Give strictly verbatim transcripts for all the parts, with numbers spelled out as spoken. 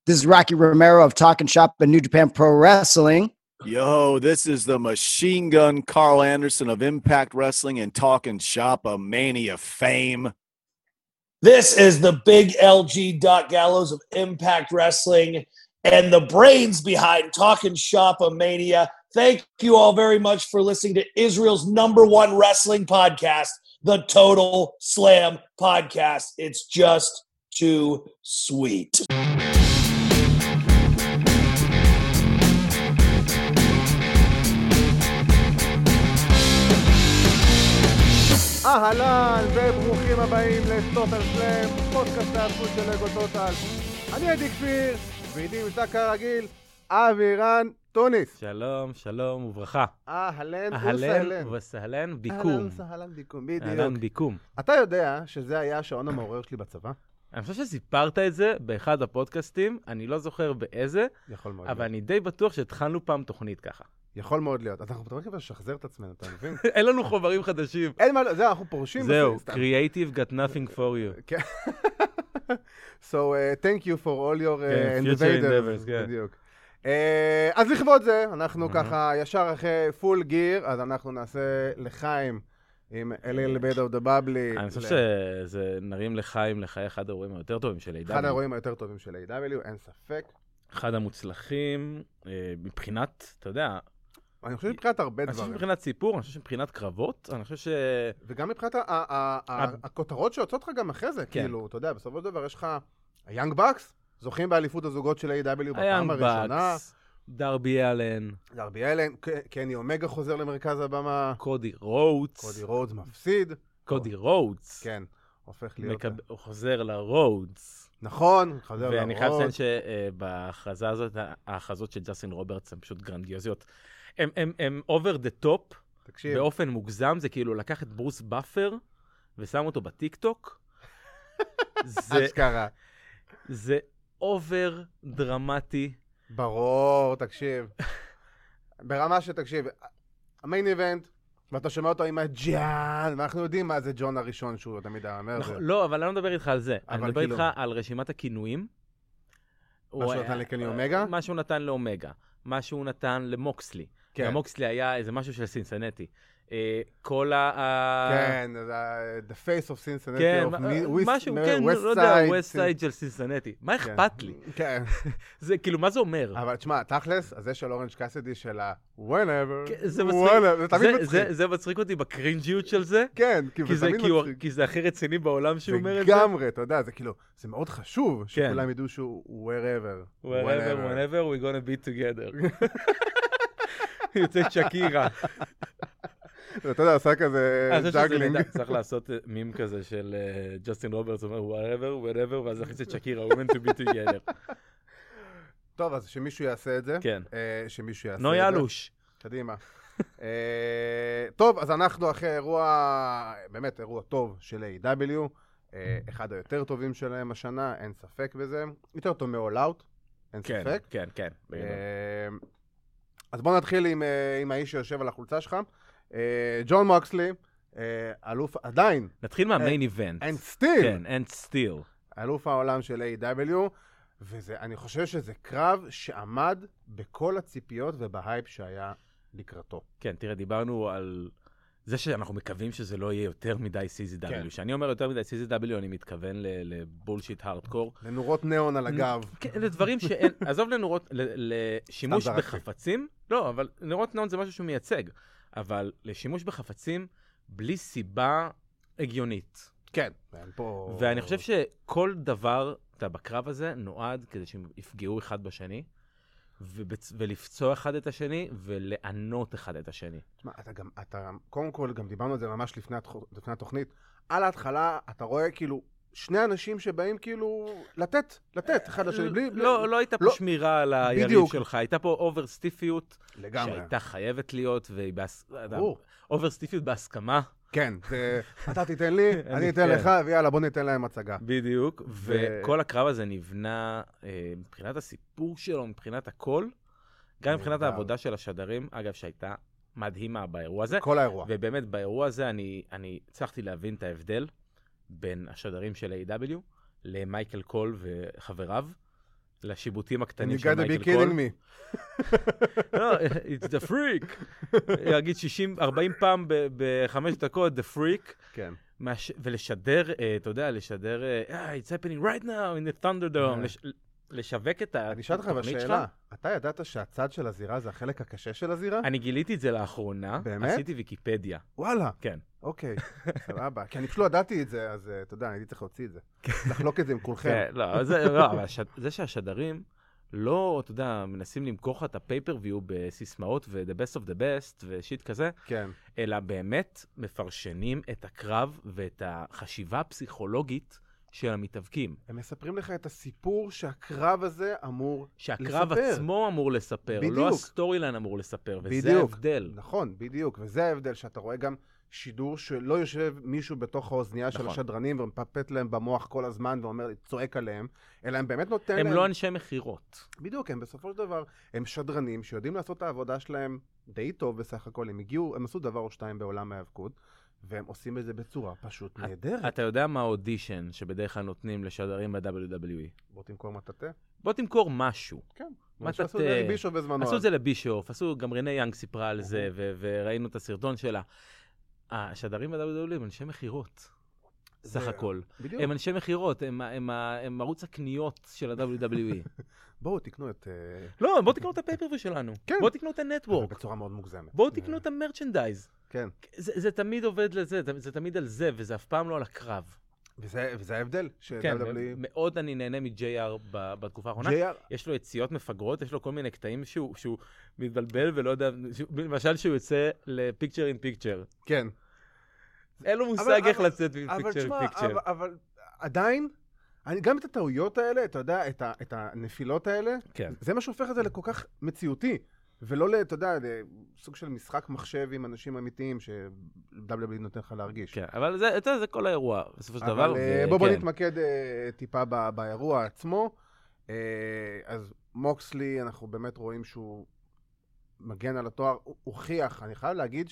This is Rocky Romero of Talking Shop and New Japan Pro Wrestling. Yo, this is the Machine Gun Carl Anderson of Impact Wrestling and Talking Shop of Mania fame. This is the Big L G Doc Gallows of Impact Wrestling and the brains behind Talking Shop of Mania. Thank you all very much for listening to Israel's number one wrestling podcast, the Total Slam Podcast. It's just too sweet. אהלן וברוכים הבאים לטוטל סלאם, פודקאסט ההיאבקות של לגו טוטל. אני עדי כפיר, ואיתי נמצא כרגיל אבירן טוניס. שלום, שלום וברכה. אהלן אהלן וסהלן ביקום. אהלן וסהלן ביקום, בדיוק. אהלן ביקום. אתה יודע שזה היה השעון המעורר שלי בצבא? אני חושב שסיפרת את זה באחד הפודקאסטים, אני לא זוכר באיזה, יכול מאוד אבל להיות. אני די בטוח שהתחלנו פעם תוכנית ככה. יכול מאוד להיות. אנחנו מתחילים כבר לשחזר את עצמנו, אתה מבין? אין לנו חומרים חדשים. אין מה, זהו, אנחנו פורשים. זהו, סתם. creative got nothing for you. כן. So, uh, thank you for all your uh, כן, future endeavors. endeavors, כן. בדיוק. Uh, אז לכבוד זה, אנחנו ככה ישר אחרי פול גיר, אז אנחנו נעשה לחיים עם אליל בית אוף דה בבלי. אני חושב שזה נרים לחיים לחיי אחד האירועים היותר טובים של איי דאבליו. אחד האירועים היותר טובים של איי דאבליו, אין ספק. אחד המוצלחים, אה, מבחינת, אתה יודע, אני חושב מבחינת הרבה אני חושב דברים. מבחינת סיפור, אני חושב שמבחינת קרבות, אני חושב ש... וגם מבחינת ה- ה- ה- ה- הכותרות שיוצאות לך גם אחרי זה, כן. כאילו, אתה יודע, בסופו של דבר יש לך היאנג בקס, זוכים באליפות הזוגות של איי דאבליו בפעם היאנג הראשונה. בקס, דרבי אלן, דרבי אלן, ק- קני אומגה חוזר למרכז הבמה, קודי רודס, קודי רודס מפסיד. קודי רודס, כן, הופך להיות... מקב... הוא חוזר לרודס. נכון, חוזר לרודס. ואני חייב לציין שבהכרזה הזאת, ההכרזות של ג'סטין רוברטס הן פשוט גרנדיוזיות. הם, הם, הם over the top, תקשיב. באופן מוגזם, זה כאילו לקח את ברוס באפר ושם אותו בטיק טוק. זה, אשכרה. זה אובר דרמטי. ברור, תקשיב. ברמה שתקשיב, המיין איבנט, ואתה שומע אותו עם הג'אן, ואנחנו יודעים מה זה ג'ון הראשון שהוא תמיד אומר. נכון, לא, אבל אני לא מדבר איתך על זה. אני מדבר כאילו- איתך על רשימת הכינויים. מה שהוא נתן לקני אומגה? מה שהוא נתן לאומגה. מה שהוא נתן למוקסלי. כן. המוקסלי היה איזה משהו של סינסנטי. אה, כל ה... כן, זה The Face of Cincinnati כן, of מה- West- משהו, West כן, לא יודע, Side. ווסט סייד של סינסנטי. מה כן. אכפת לי? כן. זה כאילו, מה זה אומר? אבל תשמע, תכלס, אז זה של אורנג' קאסידי של ה- whenever, כן, זה whenever, מצחיק. זה תמיד זה- מצחיק. זה- זה מצחיק אותי בקרינג'יות של זה, כן, כי כי זה זה תמיד כאילו- מצחיק. כי זה הכי רציני בעולם שהוא אומר את זה. לגמרי, אתה יודע, זה כאילו, זה מאוד חשוב כן. שכולם ידעו שהוא wherever. wherever, whenever we gonna be together. יוצאת שקירה. אתה יודע, עשה כזה אני חושב שזה ג'אגלינג. נהדר, צריך לעשות מים כזה של ג'סטין רוברטס, אומר wherever, whenever, ואז להכניס את שקירה, women to be together. טוב, אז שמישהו יעשה את זה. כן. אה, שמישהו יעשה את זה. נו יאלוש. קדימה. אה, טוב, אז אנחנו אחרי אירוע, באמת אירוע טוב של איי דאבליו, אה, אחד היותר טובים שלהם השנה, אין ספק בזה. יותר טוב מ-All Out, אין כן, ספק. כן, כן. אה, אז בוא נתחיל עם, אה, עם האיש שיושב על החולצה שלך. אה, ג'ון מוקסלי, אה, אלוף עדיין, נתחיל מהמיין איבנט. and still, כן, and still. אלוף העולם של איי דאבליו, ואני חושב שזה קרב שעמד בכל הציפיות ובהייפ שהיה לקראתו. כן, תראה, דיברנו על זה שאנחנו מקווים שזה לא יהיה יותר מדי סי זי דאבליו. כן. כשאני אומר יותר מדי סי זי דאבליו, אני מתכוון לבולשיט הארדקור. לנורות ניאון על הגב. כן, לדברים שאין, עזוב לנורות, ל- לשימוש סתם זרקתי. בחפצים, לא, אבל נורות ניאון זה משהו שהוא מייצג, אבל לשימוש בחפצים בלי סיבה הגיונית. כן. אין פה... ואני חושב שכל דבר, אתה בקרב הזה, נועד כדי שהם יפגעו אחד בשני, ובצ... ולפצוע אחד את השני, ולענות אחד את השני. תשמע, אתה גם, אתה, קודם כל, גם דיברנו על זה ממש לפני, התח... לפני התוכנית. על ההתחלה, אתה רואה כאילו שני אנשים שבאים כאילו לתת, לתת אחד לשני. בלי, לא, בלי... לא הייתה פה לא. שמירה על היריב בדיוק. שלך, הייתה פה אובר סטיפיות, לגמרי. שהייתה חייבת להיות, והיא בהס... ברור. אובר סטיפיות בהסכמה. כן, זה, אתה תיתן לי, אני אתן כן. לך, ויאללה, בוא ניתן להם הצגה. בדיוק, ו- וכל הקרב הזה נבנה אה, מבחינת הסיפור שלו, מבחינת הכל, גם מבחינת נהדר. העבודה של השדרים, אגב, שהייתה מדהימה באירוע הזה. כל האירוע. ובאמת, באירוע הזה אני, אני הצלחתי להבין את ההבדל בין השדרים של איי דאבליו למייקל קול וחבריו. לשיבוטים הקטנים You של gotta be מייקל kidding קול. me. לא, it's the freak. יגיד שישים ארבעים פעם בחמש דקות, the freak. כן. מש... ולשדר, uh, אתה יודע, לשדר, uh, it's happening right now in the Thunderdome, לש... לשווק את אני אשאל אותך התוכנית שלך. בשאלה, אתה ידעת שהצד של הזירה זה החלק הקשה של הזירה? אני גיליתי את זה לאחרונה, באמת? עשיתי ויקיפדיה. וואלה. כן. אוקיי, סבבה. כי אני פשוט לא ידעתי את זה, אז אתה יודע, הייתי צריך להוציא את זה. לחלוק את זה עם כולכם. כן, לא, זה, לא, אבל הש... זה שהשדרים לא, אתה יודע, מנסים למכור לך את הפייפריוויו בסיסמאות ו-the best of the best ושיט כזה, כן. אלא באמת מפרשנים את הקרב ואת החשיבה הפסיכולוגית של המתאבקים. הם מספרים לך את הסיפור שהקרב הזה אמור שהקרב לספר. עצמו אמור לספר, בדיוק. לא הסטורי ליין אמור לספר, וזה בדיוק. ההבדל. נכון, בדיוק, וזה ההבדל שאתה רואה גם שידור שלא יושב מישהו בתוך האוזנייה של נכון. השדרנים ומפפט להם במוח כל הזמן ואומר, צועק עליהם, אלא הם באמת נותן הם להם... לא אנשי מחירות. בדיוק, הם בסופו של דבר, הם שדרנים שיודעים לעשות את העבודה שלהם די טוב בסך הכל, הם הגיעו, הם עשו דבר או שתיים בעולם ההיאבקות, והם עושים את זה בצורה פשוט נהדרת. אתה יודע מה האודישן שבדרך כלל נותנים לשדרים ב-דאבליו דאבליו אי? בוא תמכור מטאטה. בוא תמכור משהו. כן. מה שעשו אתה- את זה לבישוף בזמנו. עשו את זה לבישוף, עשו, גם רנה יאנג סיפרה על זה, ו- וראינו את הסרטון שלה. השדרים ב-דאבליו דאבליו אי הם אנשי מחירות, סך זה- הכל. בדיוק. הם אנשי מחירות, הם, הם, הם ערוץ הקניות של ה-דאבליו דאבליו אי. בואו תקנו את... אה, לא, בואו תקנו את הפייפריוויו שלנו. כן. בואו תקנו את אבל הנטוורק. בצורה מאוד מוגזמת. בואו תקנו את המרצ'נדייז. כן. זה, זה תמיד עובד לזה, זה, זה תמיד על זה, וזה אף פעם לא על הקרב. וזה, וזה ההבדל. כן, ש-דאבליו דאבליו אי מאוד אני נהנה מ-ג'יי אר ב- בתקופה האחרונה. ג'יי אר יש לו יציאות מפגרות, יש לו כל מיני קטעים שהוא, שהוא מתבלבל ולא יודע, שהוא- למשל שהוא יוצא לפיקצ'ר אין פיקצ'ר. כן. אין לו אבל- מושג איך אבל- לצאת אבל מפיקצ'ר אין תשמע, פיקצ'ר. אבל, אבל עדיין, אני, גם את הטעויות האלה, אתה יודע, את, ה, את הנפילות האלה, כן. זה מה שהופך את זה לכל כך מציאותי. ולא, ל- אתה יודע, סוג של משחק מחשב עם אנשים אמיתיים ש-דאבליו דאבליו אי נותן לך להרגיש. כן, אבל זה, אתה יודע, זה כל האירוע, בסופו של דבר. אבל אה, ו- בוא בוא כן. נתמקד אה, טיפה ב- באירוע עצמו. אה, אז מוקסלי, אנחנו באמת רואים שהוא מגן על התואר, הוא הוכיח, אני חייב להגיד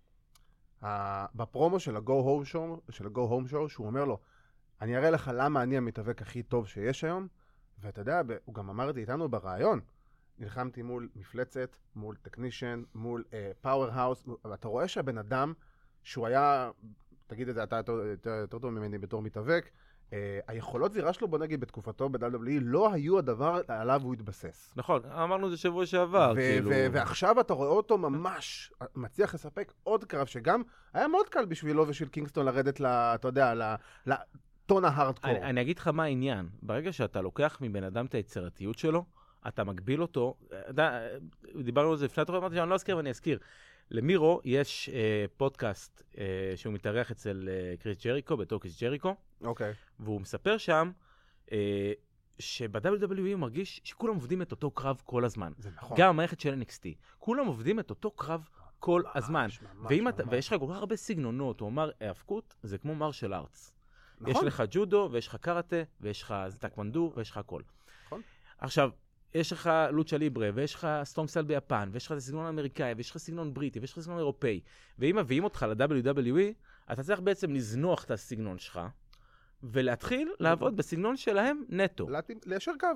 שבפרומו של ה-Go Home Show, של ה-Go Home Show, שהוא אומר לו, אני אראה לך למה אני המתאבק הכי טוב שיש היום, ואתה יודע, ב- הוא גם אמר את זה איתנו ברעיון, נלחמתי מול מפלצת, מול טכנישן, מול פאוור האוס, ואתה רואה שהבן אדם, שהוא היה, תגיד את זה, אתה יותר, יותר, יותר טוב ממני בתור מתאבק, uh, היכולות זירה שלו, בוא נגיד, בתקופתו ב-דאבליו דאבליו אי, לא היו הדבר עליו הוא התבסס. נכון, אמרנו את זה שבוע שעבר, ו- כאילו. ו- ועכשיו אתה רואה אותו ממש מצליח לספק עוד קרב, שגם היה מאוד קל בשבילו ושל קינגסטון לרדת, ל- אתה יודע, ל- לטון ההארדקור. אני, אני אגיד לך מה העניין. ברגע שאתה לוקח מבן אדם את היצירתיות שלו, אתה מגביל אותו. אתה, דיברנו על זה לפני התוכנית, אמרתי שאני לא אזכיר ואני אזכיר. למירו יש אה, פודקאסט אה, שהוא מתארח אצל אה, קריס ג'ריקו, בטוקיס ג'ריקו, אוקיי. והוא מספר שם אה, שב-דאבליו דאבליו אי הוא מרגיש שכולם עובדים את אותו קרב כל הזמן. זה נכון. גם המערכת של אן אקס טי. כולם עובדים את אותו קרב כל הזמן. ממש, ממש, ואם אתה, ממש. ויש לך כל כך הרבה סגנונות, הוא אמר, האבקות זה כמו מרשל ארטס. נכון. יש לך ג'ודו, ויש לך קראטה, ויש לך טקוונדו, ויש לך הכל. נכון. עכשיו, יש לך לוצ'ה ליברה, ויש לך סטרונג סטייל ביפן, ויש לך את הסגנון האמריקאי, ויש לך סגנון בריטי, ויש לך סגנון אירופאי. ואם מביאים אותך ל-דאבליו דאבליו אי, אתה צריך בעצם לזנוח את הסגנון שלך, ולהתחיל לעבוד בסגנון שלהם נטו. להתאים- ליישר קו.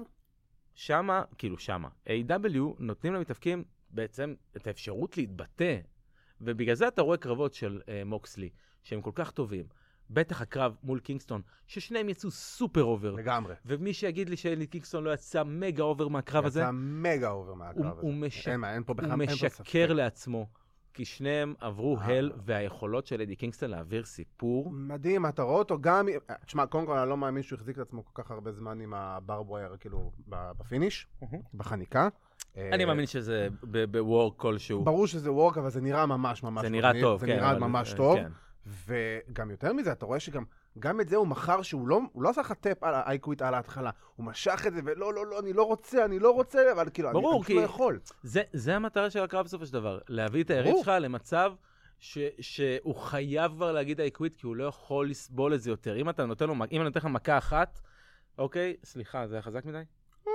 שמה, כאילו שמה, איי דאבליו נותנים למתאבקים בעצם את האפשרות להתבטא, ובגלל זה אתה רואה קרבות של uh, מוקסלי, שהם כל כך טובים. בטח הקרב מול קינגסטון, ששניהם יצאו סופר אובר. לגמרי. ומי שיגיד לי שאלי קינגסטון לא יצא מגה אובר מהקרב הזה, יצא מגה אובר מהקרב הוא, הזה. הוא, מש... אין מה, אין פה בכלל, הוא אין פה ספק. משקר לעצמו, כי שניהם עברו אה. הל, והיכולות של אדי קינגסטון להעביר סיפור. מדהים, אתה רואה אותו גם... תשמע, קודם כל, אני לא מאמין שהוא החזיק את עצמו כל כך הרבה זמן עם הברבווייר, כאילו, ב- בפיניש, בחניקה. אני מאמין שזה בוורק כלשהו. ברור שזה וורק, אבל זה נראה ממש ממש זה נראה מגניב, טוב, זה כן. נראה אבל- ממש טוב. כן. וגם יותר מזה, אתה רואה שגם גם את זה הוא מכר שהוא לא, הוא לא עשה לך טאפ על האייקוויט על ההתחלה. הוא משך את זה, ולא, לא, לא, אני לא רוצה, אני לא רוצה, אבל כאילו, ברור, אני, אני כי- פשוט לא יכול. זה, זה המטרה של הקרב בסופו של דבר, להביא את היריב ברור. שלך למצב ש, שהוא חייב כבר להגיד האיקוויט, כי הוא לא יכול לסבול את זה יותר. אם אתה נותן לו, אם אני נותן לך מכה אחת, אוקיי, סליחה, זה היה חזק מדי?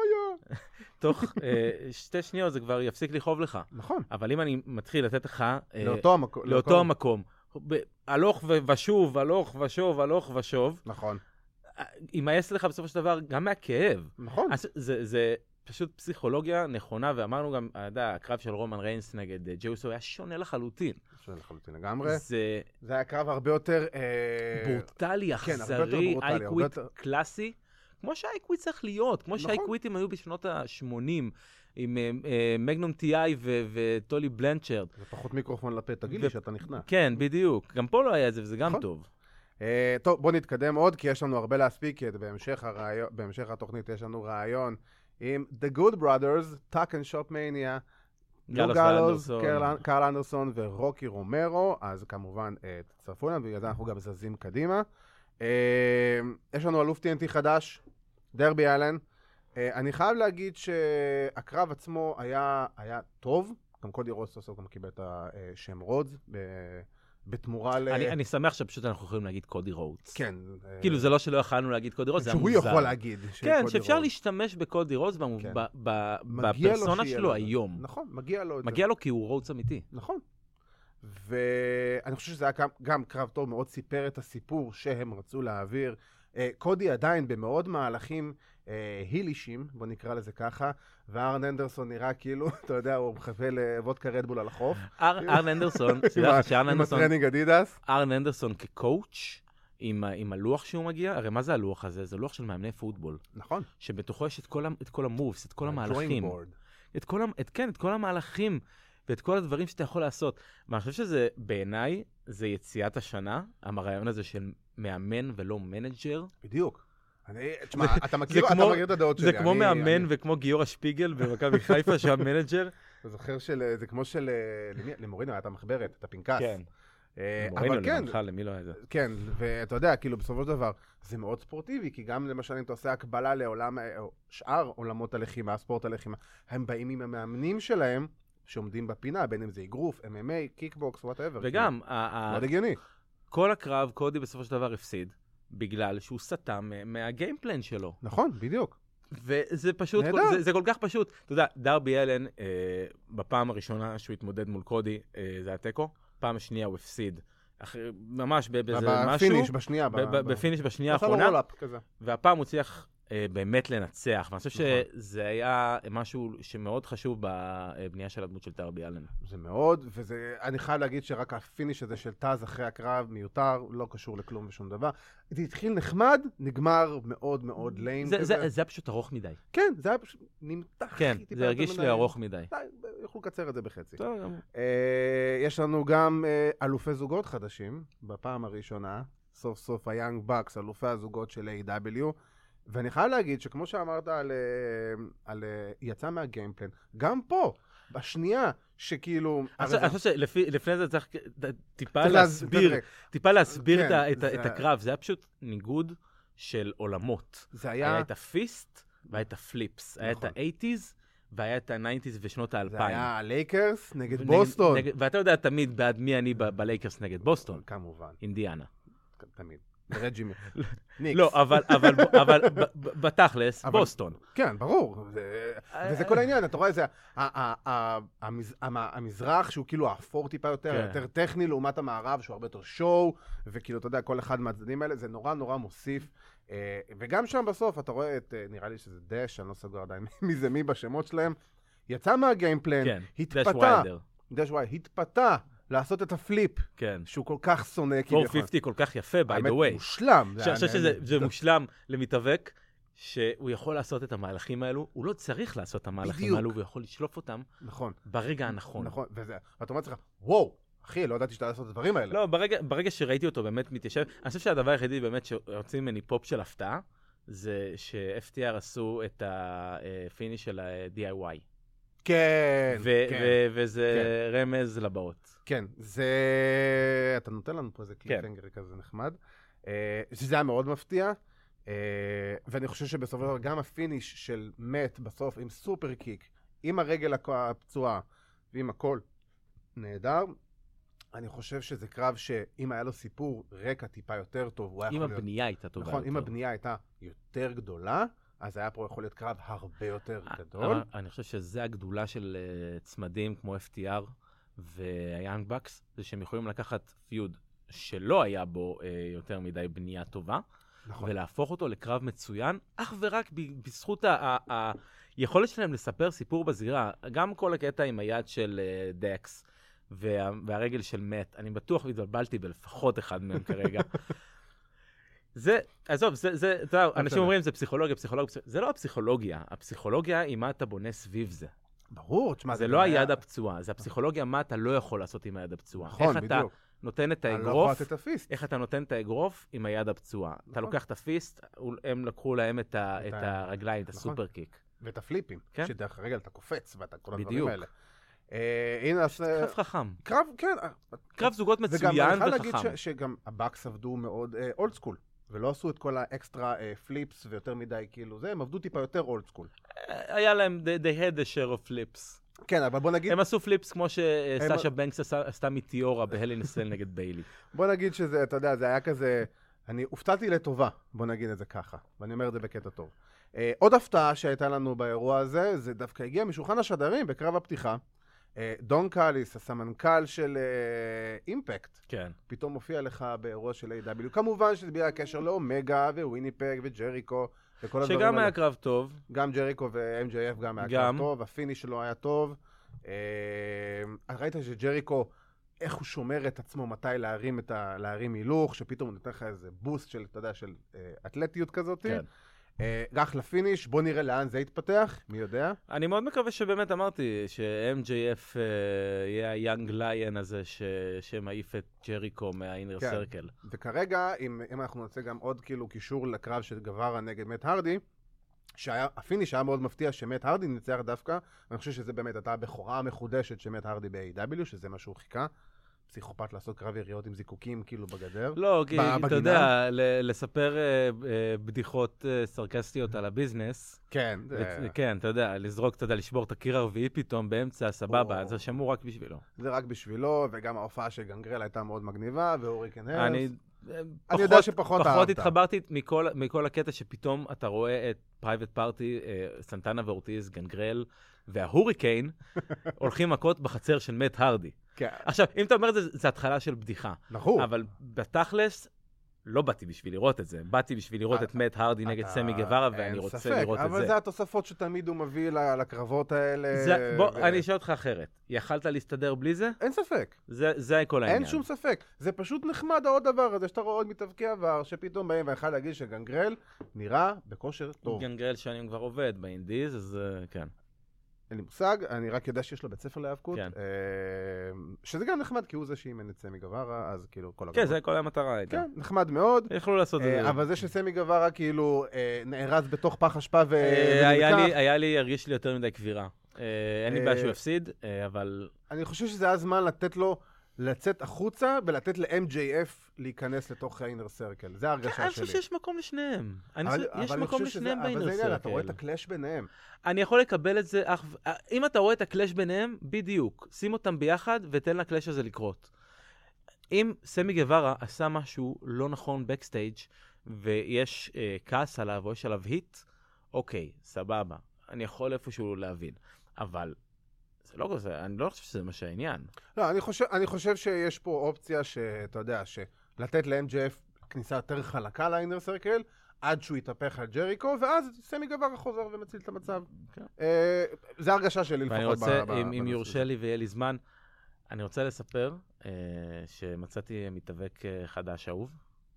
תוך אה, שתי שניות זה כבר יפסיק לכאוב לך. נכון. אבל אם אני מתחיל לתת לך... אה, לאותו המקום. לאותו המקום. ב- הלוך ו- ושוב, הלוך ושוב, הלוך ושוב, נכון. יימאס לך בסופו של דבר גם מהכאב. נכון. אז זה, זה פשוט פסיכולוגיה נכונה, ואמרנו גם, אתה יודע, הקרב של רומן ריינס נגד ג'יי אוסו היה שונה לחלוטין. שונה לחלוטין לגמרי. זה... זה היה קרב הרבה יותר... ברוטלי, אכזרי, אייקוויט קלאסי, כמו שהאייקוויט צריך להיות, כמו שהאייקוויטים היו בשנות ה-שמונים, עם מגנום טי-איי וטולי בלנצ'רד. זה פחות מיקרופון לפה, תגיד לי שאתה נכנע. כן, בדיוק. גם פה לא היה את זה, וזה גם טוב. טוב, בוא נתקדם עוד, כי יש לנו הרבה להספיק, בהמשך התוכנית יש לנו רעיון עם The Good Brothers, Tuck and Shop Mania, גלו גלוז, קרל אנדרסון ורוקי רומרו, אז כמובן תצטרפו להם, בגלל זה אנחנו גם זזים קדימה. יש לנו אלוף טי אן טי חדש, דרבי אלן. אני חייב להגיד שהקרב עצמו היה, היה טוב, גם קודי רודס סוף גם קיבל את השם רודס, בתמורה ל... אני, אני שמח שפשוט אנחנו יכולים להגיד קודי רודס. כן. כאילו זה לא שלא יכלנו להגיד קודי רודס, זה היה מוזר. שהוא יכול להגיד. כן, שאפשר להשתמש בקודי רודס כן. בפרסונה שלו היום. נכון, מגיע לו את זה. מגיע לו כי הוא רודס אמיתי. נכון. ואני חושב שזה היה גם, גם קרב טוב, מאוד סיפר את הסיפור שהם רצו להעביר. קודי עדיין במאוד מהלכים הילישים, בוא נקרא לזה ככה, וארן אנדרסון נראה כאילו, אתה יודע, הוא מחווה לוודקה רדבול על החוף. ארן אנדרסון, עם הטרנינג אדידס. ארן אנדרסון כקואוץ' עם הלוח שהוא מגיע, הרי מה זה הלוח הזה? זה לוח של מאמני פוטבול. נכון. שבתוכו יש את כל המובס, את כל המהלכים. כן, את כל המהלכים. ואת כל הדברים שאתה יכול לעשות. ואני חושב שזה, בעיניי, זה יציאת השנה, הרעיון הזה של מאמן ולא מנג'ר. בדיוק. אני, תשמע, אתה מכיר, אתה מכיר את הדעות שלי. זה כמו מאמן וכמו גיורא שפיגל במכבי חיפה, שהיה מנג'ר. אתה זוכר של, זה כמו של, למורינו היה את המחברת, את הפנקס. כן. למורינו, למנך, למי לא היה זה. כן, ואתה יודע, כאילו, בסופו של דבר, זה מאוד ספורטיבי, כי גם למשל, אם אתה עושה הקבלה לעולם, שאר עולמות הלחימה, ספורט הלחימה, הם באים עם המאמנים שלהם, שעומדים בפינה, בין אם זה אגרוף, אם אם איי, קיקבוקס, whatever. וגם, מאוד הגיוני. כל הקרב, קודי בסופו של דבר הפסיד, בגלל שהוא סתם מהגיימפלן שלו. נכון, בדיוק. וזה פשוט, זה כל כך פשוט. אתה יודע, דרבי אלן, בפעם הראשונה שהוא התמודד מול קודי, זה היה טקו, פעם השנייה הוא הפסיד. ממש באיזה משהו. בפיניש בשנייה. בפיניש בשנייה האחרונה. והפעם הוא צריך... באמת לנצח, ואני חושב שזה היה משהו שמאוד חשוב בבנייה של הדמות של דרבי אלן. זה מאוד, ואני חייב להגיד שרק הפיניש הזה של טאז אחרי הקרב מיותר, לא קשור לכלום ושום דבר. זה התחיל נחמד, נגמר מאוד מאוד ליים. זה היה פשוט ארוך מדי. כן, זה היה פשוט נמתח. כן, זה הרגיש לי ארוך מדי. יכולו לקצר את זה בחצי. טוב, גם. יש לנו גם אלופי זוגות חדשים, בפעם הראשונה, סוף סוף היאנג בקס, אלופי הזוגות של איי דאבליו, ואני חייב להגיד שכמו שאמרת על, על יצא מהגיימפלן, גם פה, בשנייה שכאילו... אני חושב שלפני זה צריך טיפה להסביר, טיפה להסביר את הקרב. זה היה פשוט ניגוד של עולמות. זה היה... היה את הפיסט והיה את הפליפס. היה את ה-שמונים והיה את ה-תשעים ושנות ה-אלפיים. זה היה הלייקרס נגד בוסטון. ואתה יודע תמיד בעד מי אני בלייקרס נגד בוסטון. כמובן. אינדיאנה. תמיד. רג'י לא, אבל בתכלס, בוסטון. כן, ברור. וזה כל העניין, אתה רואה, זה המזרח שהוא כאילו האפור טיפה יותר, יותר טכני לעומת המערב שהוא הרבה יותר שואו, וכאילו, אתה יודע, כל אחד מהצדדים האלה, זה נורא נורא מוסיף. וגם שם בסוף, אתה רואה את, נראה לי שזה דש, אני לא סגור עדיין מי זה מי בשמות שלהם, יצא מהגיימפלן, התפתה, דש וואי, התפתה, לעשות את הפליפ, כן. שהוא כל כך שונא. ארבע מאות וחמישים כל כך יפה, by the way. האמת, מושלם. אני חושב שזה מושלם למתאבק, שהוא יכול לעשות את המהלכים האלו, הוא לא צריך לעשות את המהלכים האלו, והוא יכול לשלוף אותם נכון. ברגע הנכון. נכון, וזה, ואתה אומר לך, וואו, אחי, לא ידעתי שאתה לעשות את הדברים האלה. לא, ברגע, ברגע שראיתי אותו באמת מתיישב, אני חושב שהדבר היחידי באמת שרוצים ממני פופ של הפתעה, זה ש-אף טי אר עשו את הפיניש של ה-די איי וואי. כן, כן. וזה רמז לבאות. כן, זה... אתה נותן לנו פה איזה קליפהנגר כזה נחמד. שזה היה מאוד מפתיע. ואני חושב שבסופו של דבר גם הפיניש של מת בסוף עם סופר קיק, עם הרגל הפצועה ועם הכל נהדר. אני חושב שזה קרב שאם היה לו סיפור רקע טיפה יותר טוב, הוא היה יכול להיות... אם הבנייה הייתה טובה. נכון, אם הבנייה הייתה יותר גדולה, אז היה פה יכול להיות קרב הרבה יותר גדול. אני חושב שזה הגדולה של צמדים כמו אף טי אר והיאנג בקס, זה שהם יכולים לקחת פיוד שלא היה בו יותר מדי בנייה טובה, נכון. ולהפוך אותו לקרב מצוין, אך ורק ב- בזכות ה- ה- היכולת שלהם לספר סיפור בזירה. גם כל הקטע עם היד של uh, דקס וה- והרגל של מת, אני בטוח התבלבלתי בלפחות אחד מהם כרגע. זה, עזוב, זה, זה, אתה יודע, אנשים אומרים, זה פסיכולוגיה, פסיכולוגיה, פסיכולוגיה, זה לא הפסיכולוגיה, הפסיכולוגיה היא מה אתה בונה סביב זה. ברור, תשמע, זה לא היד הפצועה, זה הפסיכולוגיה, מה אתה לא יכול לעשות עם היד הפצועה. נכון, איך אתה בדיוק. נותן את אני לא יכול האגרוף, לתת את הפיסט. איך אתה נותן את האגרוף עם היד הפצועה. אתה לוקח את הפיסט, הם לקחו להם את ה- את את ה- הרגליים, את נכון. הסופר קיק. ואת הפליפים. כן. שדרך הרגל אתה קופץ, ואתה כל הדברים בדיוק. האלה. אה, הנה, אז... קרב חכם. קרב, כן. קרב זוגות וגם מצוין אני חייב להגיד וחכם. ש- שגם הבאקס עבדו מאוד אולד סקול. ולא עשו את כל האקסטרה פליפס ויותר מדי כאילו זה, הם עבדו טיפה יותר אולד סקול. היה להם, they they had a share of flips. כן, אבל בוא נגיד, הם עשו פליפס כמו שסאשה בנקס עשה- עשתה מטיורה בהלינסל נגד ביילי. בוא נגיד שזה, אתה יודע, זה היה כזה, אני הופתעתי לטובה, בוא נגיד את זה ככה, ואני אומר את זה בקטע טוב. אה, עוד הפתעה שהייתה לנו באירוע הזה, זה דווקא הגיע משולחן השדרים בקרב הפתיחה. אה, דון קאליס, הסמנכ"ל של אה, אימפקט, כן. פתאום מופיע לך באירוע של איי דאבליו. כמובן שזה בגלל הקשר לאומגה וויניפג וג'ריקו וכל הדברים שגם האלה. היה קרב טוב. גם ג'ריקו ו-אם ג'יי אף גם היה גם. קרב טוב, הפיניש שלו היה טוב. אה, ראית שג'ריקו, איך הוא שומר את עצמו, מתי להרים, את ה... להרים הילוך, שפתאום הוא נותן לך איזה בוסט של, אתה יודע, של אה, אתלטיות כזאת. כן. אה, רק לפיניש, בוא נראה לאן זה יתפתח, מי יודע. אני מאוד מקווה שבאמת אמרתי ש-אם ג'יי אף uh, יהיה היאנג ליין הזה ש- שמעיף את ג'ריקו מהאינר כן. סרקל. וכרגע, אם, אם אנחנו נוצא גם עוד כאילו קישור לקרב של גווארה נגד מת הרדי, שהפיניש היה מאוד מפתיע שמת הרדי ניצח דווקא, ואני חושב שזה באמת הייתה הבכורה המחודשת של מת הרדי ב-איי דאבליו, שזה מה שהוא חיכה. פסיכופת לעשות קרב יריות עם זיקוקים כאילו בגדר. לא, כי בגינה. אתה יודע, ל- לספר uh, uh, בדיחות uh, סרקסטיות על הביזנס, כן. ו- זה, כן, אתה יודע, לזרוק, אתה יודע, לשבור את הקיר הרביעי פתאום באמצע, סבבה, או. זה שמור רק בשבילו. זה רק בשבילו, וגם ההופעה של גנגרל הייתה מאוד מגניבה, והוריקן הרס. אני אני יודע שפחות פחות אהבת. התחברתי מכל, מכל הקטע שפתאום אתה רואה את פרייבט פארטי, סנטנה ואורטיז, גנגרל וההוריקיין הולכים מכות בחצר של מת הרדי. כן. עכשיו, אם אתה אומר את זה, זה התחלה של בדיחה. נכון. אבל בתכלס, לא באתי בשביל לראות את זה. באתי בשביל לראות את מת הרדי נגד אתה- סמי גווארה, אין ואני רוצה ספק, לראות את אבל זה. זה התוספות שתמיד הוא מביא ל- לקרבות האלה. זה- בוא, ו- אני אשאל אותך אחרת. יכלת להסתדר בלי זה? אין ספק. זה זה כל העניין. אין שום ספק. זה פשוט נחמד העוד דבר הזה, שאתה רואה עוד מתאבקי עבר, שפתאום באים ואחד להגיד שגנגרל נראה בכושר טוב. גנגרל שנים כבר עובד באינדיז, אז אה, כן. אין לי מושג, אני רק יודע שיש לו בית ספר להיאבקות. כן. אה, שזה גם נחמד, כי הוא זה שאימן את סמי גווארה, אז כאילו כל כן, הכבוד. זה כל המטרה הייתה. כן, נחמד מאוד. יכלו לעשות את אה, זה. אבל זה שסמי גווארה כאילו אה, נארז בתוך פח אשפה ו... אה, היה ונלקח, לי, היה לי, הרגיש לי יותר מדי כבירה. אה, אין לי אה, בעיה שהוא הפסיד, אה, אבל... אני חושב שזה היה זמן לתת לו לצאת החוצה ולתת ל-אם ג'יי אף להיכנס לתוך האינר סרקל. זה ההרגשה אני שלי. חושב שיש מקום לשניהם. אני אבל- חושב- יש אבל אני מקום חושב שזה- לשניהם אבל באינר זה עניין, אתה רואה את סרקל. הקלאש ביניהם. אני יכול לקבל את זה, אך... אם אתה רואה את הקלאש ביניהם, בדיוק. שים אותם ביחד ותן לקלאש הזה לקרות. אם סמי גווארה עשה משהו לא נכון בקסטייג' ויש אה, כעס עליו או יש עליו היט, אוקיי, סבבה. אני יכול איפשהו להבין. אבל זה לא כזה, אני לא חושב שזה מה שהעניין. לא, אני חושב, אני חושב שיש פה אופציה שאתה יודע, שלתת ל-אם ג'יי אף כניסה יותר חלקה לאינר סרקל, עד שהוא יתהפך על ג'ריקו, ואז סמי גווארה חוזר ומציל את המצב. כן. אה, זה הרגשה שלי לפחות. ואני רוצה, ב- ב- אם, אם בנושא יורשה הזה. לי ויהיה לי זמן, אני רוצה לספר אה, שמצאתי מתאבק אה, חדש אהוב.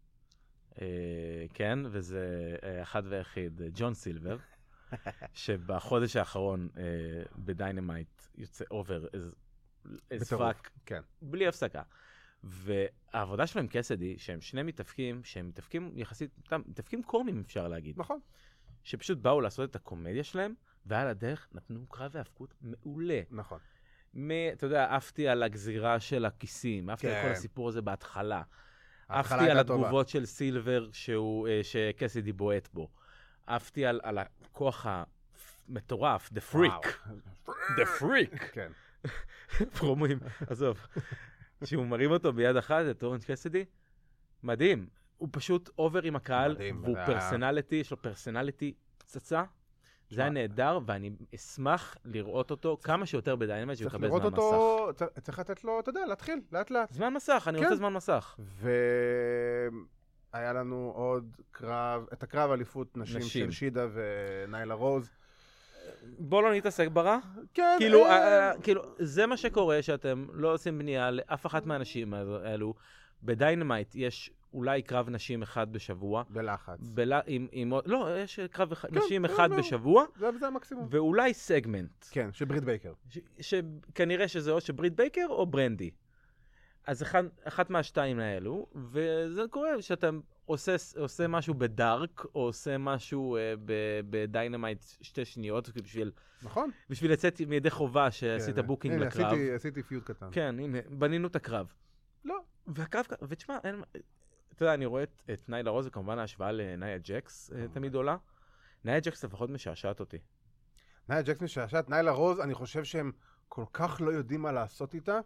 אה, כן, וזה אה, אחד ויחיד, אה, ג'ון סילבר, שבחודש האחרון אה, בדיינמייט יוצא אובר as, as בטירוף, fuck, כן. בלי הפסקה. והעבודה שלהם כסדי, שהם שני מתאבקים, שהם מתאבקים יחסית, מתאבקים קומיים אפשר להגיד. נכון. שפשוט באו לעשות את הקומדיה שלהם, ועל הדרך נתנו קרב והאבקות מעולה. נכון. מ- אתה יודע, עפתי על הגזירה של הכיסים, עפתי על כן. כל הסיפור הזה בהתחלה. ההתחלה עפתי על הייתה טובה. התגובות של סילבר שהוא, אה, שקסידי בועט בו. עפתי על, על הכוח המטורף, the freak. the freak. כן. פרומואים, עזוב. שהוא מרים אותו ביד אחת, את אורנג' קסידי, מדהים. הוא פשוט אובר עם הקהל, מדהים, והוא זה היה- פרסונליטי, יש לו פרסונליטי פצצה. זה היה נהדר, ואני אשמח לראות אותו כמה שיותר בדיינמייט, שהוא צריך יקבל לראות זמן מסך. אותו, צריך- צריך לתת לו, אתה יודע, להתחיל, לאט לאט. זמן מסך, אני כן. רוצה זמן מסך. היה לנו עוד קרב, את הקרב אליפות נשים, נשים. של שידה וניילה רוז. בוא לא נתעסק ברע. כן. כאילו, אה... כאילו, זה מה שקורה שאתם לא עושים בנייה לאף אחת מהאנשים האלו. בדיינמייט יש אולי קרב נשים אחד בשבוע. בלחץ. בל... עם, עם... לא, יש קרב כן, נשים כן, אחד לא. בשבוע. זה, זה המקסימום. ואולי סגמנט. כן, של ברית בייקר. ש... שכנראה שזה או שברית בייקר או ברנדי. אז אחד, אחת מהשתיים האלו, וזה קורה שאתה עושה, עושה משהו בדארק, או עושה משהו אה, בדיינמייט שתי שניות, בשביל, נכון. בשביל לצאת מידי חובה שעשית כן, בוקינג הנה, לקרב. עשיתי, עשיתי פיוט קטן. כן, הנה, בנינו את הקרב. לא. והקרב, ותשמע, אין, אתה יודע, אני רואה את, את ניילה רוז, וכמובן ההשוואה לנאיה ג'קס אה, תמיד עולה. נאיה ג'קס לפחות משעשעת אותי. נאיה ג'קס משעשעת, ניילה רוז, אני חושב שהם כל כך לא יודעים מה לעשות איתה,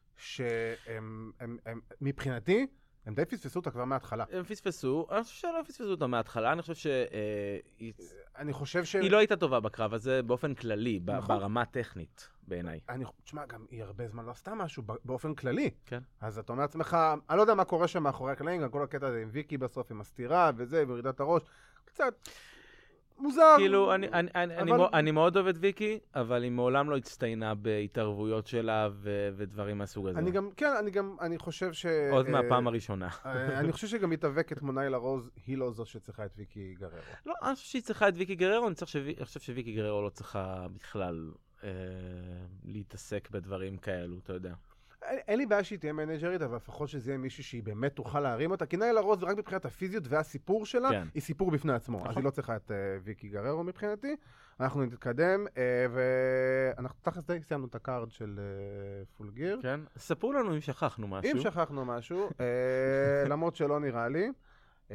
שהם, הם, הם, מבחינתי, הם די פספסו אותה כבר מההתחלה. הם פספסו, אני חושב שלא פספסו אותה מההתחלה, אני חושב שהיא... אני חושב ש... היא לא הייתה טובה בקרב הזה באופן כללי, ברמה הטכנית בעיניי. אני, תשמע, גם היא הרבה זמן לא עשתה משהו באופן כללי. כן. אז אתה אומר לעצמך, אני לא יודע מה קורה שם מאחורי הקלעים, גם כל הקטע הזה עם ויקי בסוף, עם הסתירה וזה, וירידת הראש, קצת... מוזר. כאילו, אני, אני, אני, אבל... אני, אני מאוד אוהב את ויקי, אבל היא מעולם לא הצטיינה בהתערבויות שלה ו, ודברים מהסוג הזה. אני גם, כן, אני גם, אני חושב ש... עוד מהפעם הראשונה. אני חושב שגם מתאבקת כמו ניילה רוז, היא לא זו שצריכה את ויקי גררו. לא, אני חושב שהיא צריכה את ויקי גררו, אני חושב שוויקי גררו לא צריכה בכלל אה, להתעסק בדברים כאלו, אתה יודע. אין, אין לי בעיה שהיא תהיה מנג'רית, אבל לפחות שזה יהיה מישהי שהיא באמת תוכל להרים אותה, כי ניילה רוז, רק מבחינת הפיזיות והסיפור שלה, כן. היא סיפור בפני עצמו. נכון. אז היא לא צריכה את uh, ויקי גררו מבחינתי. אנחנו נתקדם, uh, ואנחנו תכף די סיימנו את הקארד של uh, פול גיר. כן, ספרו לנו אם שכחנו משהו. אם שכחנו משהו, uh, למרות שלא נראה לי. Uh,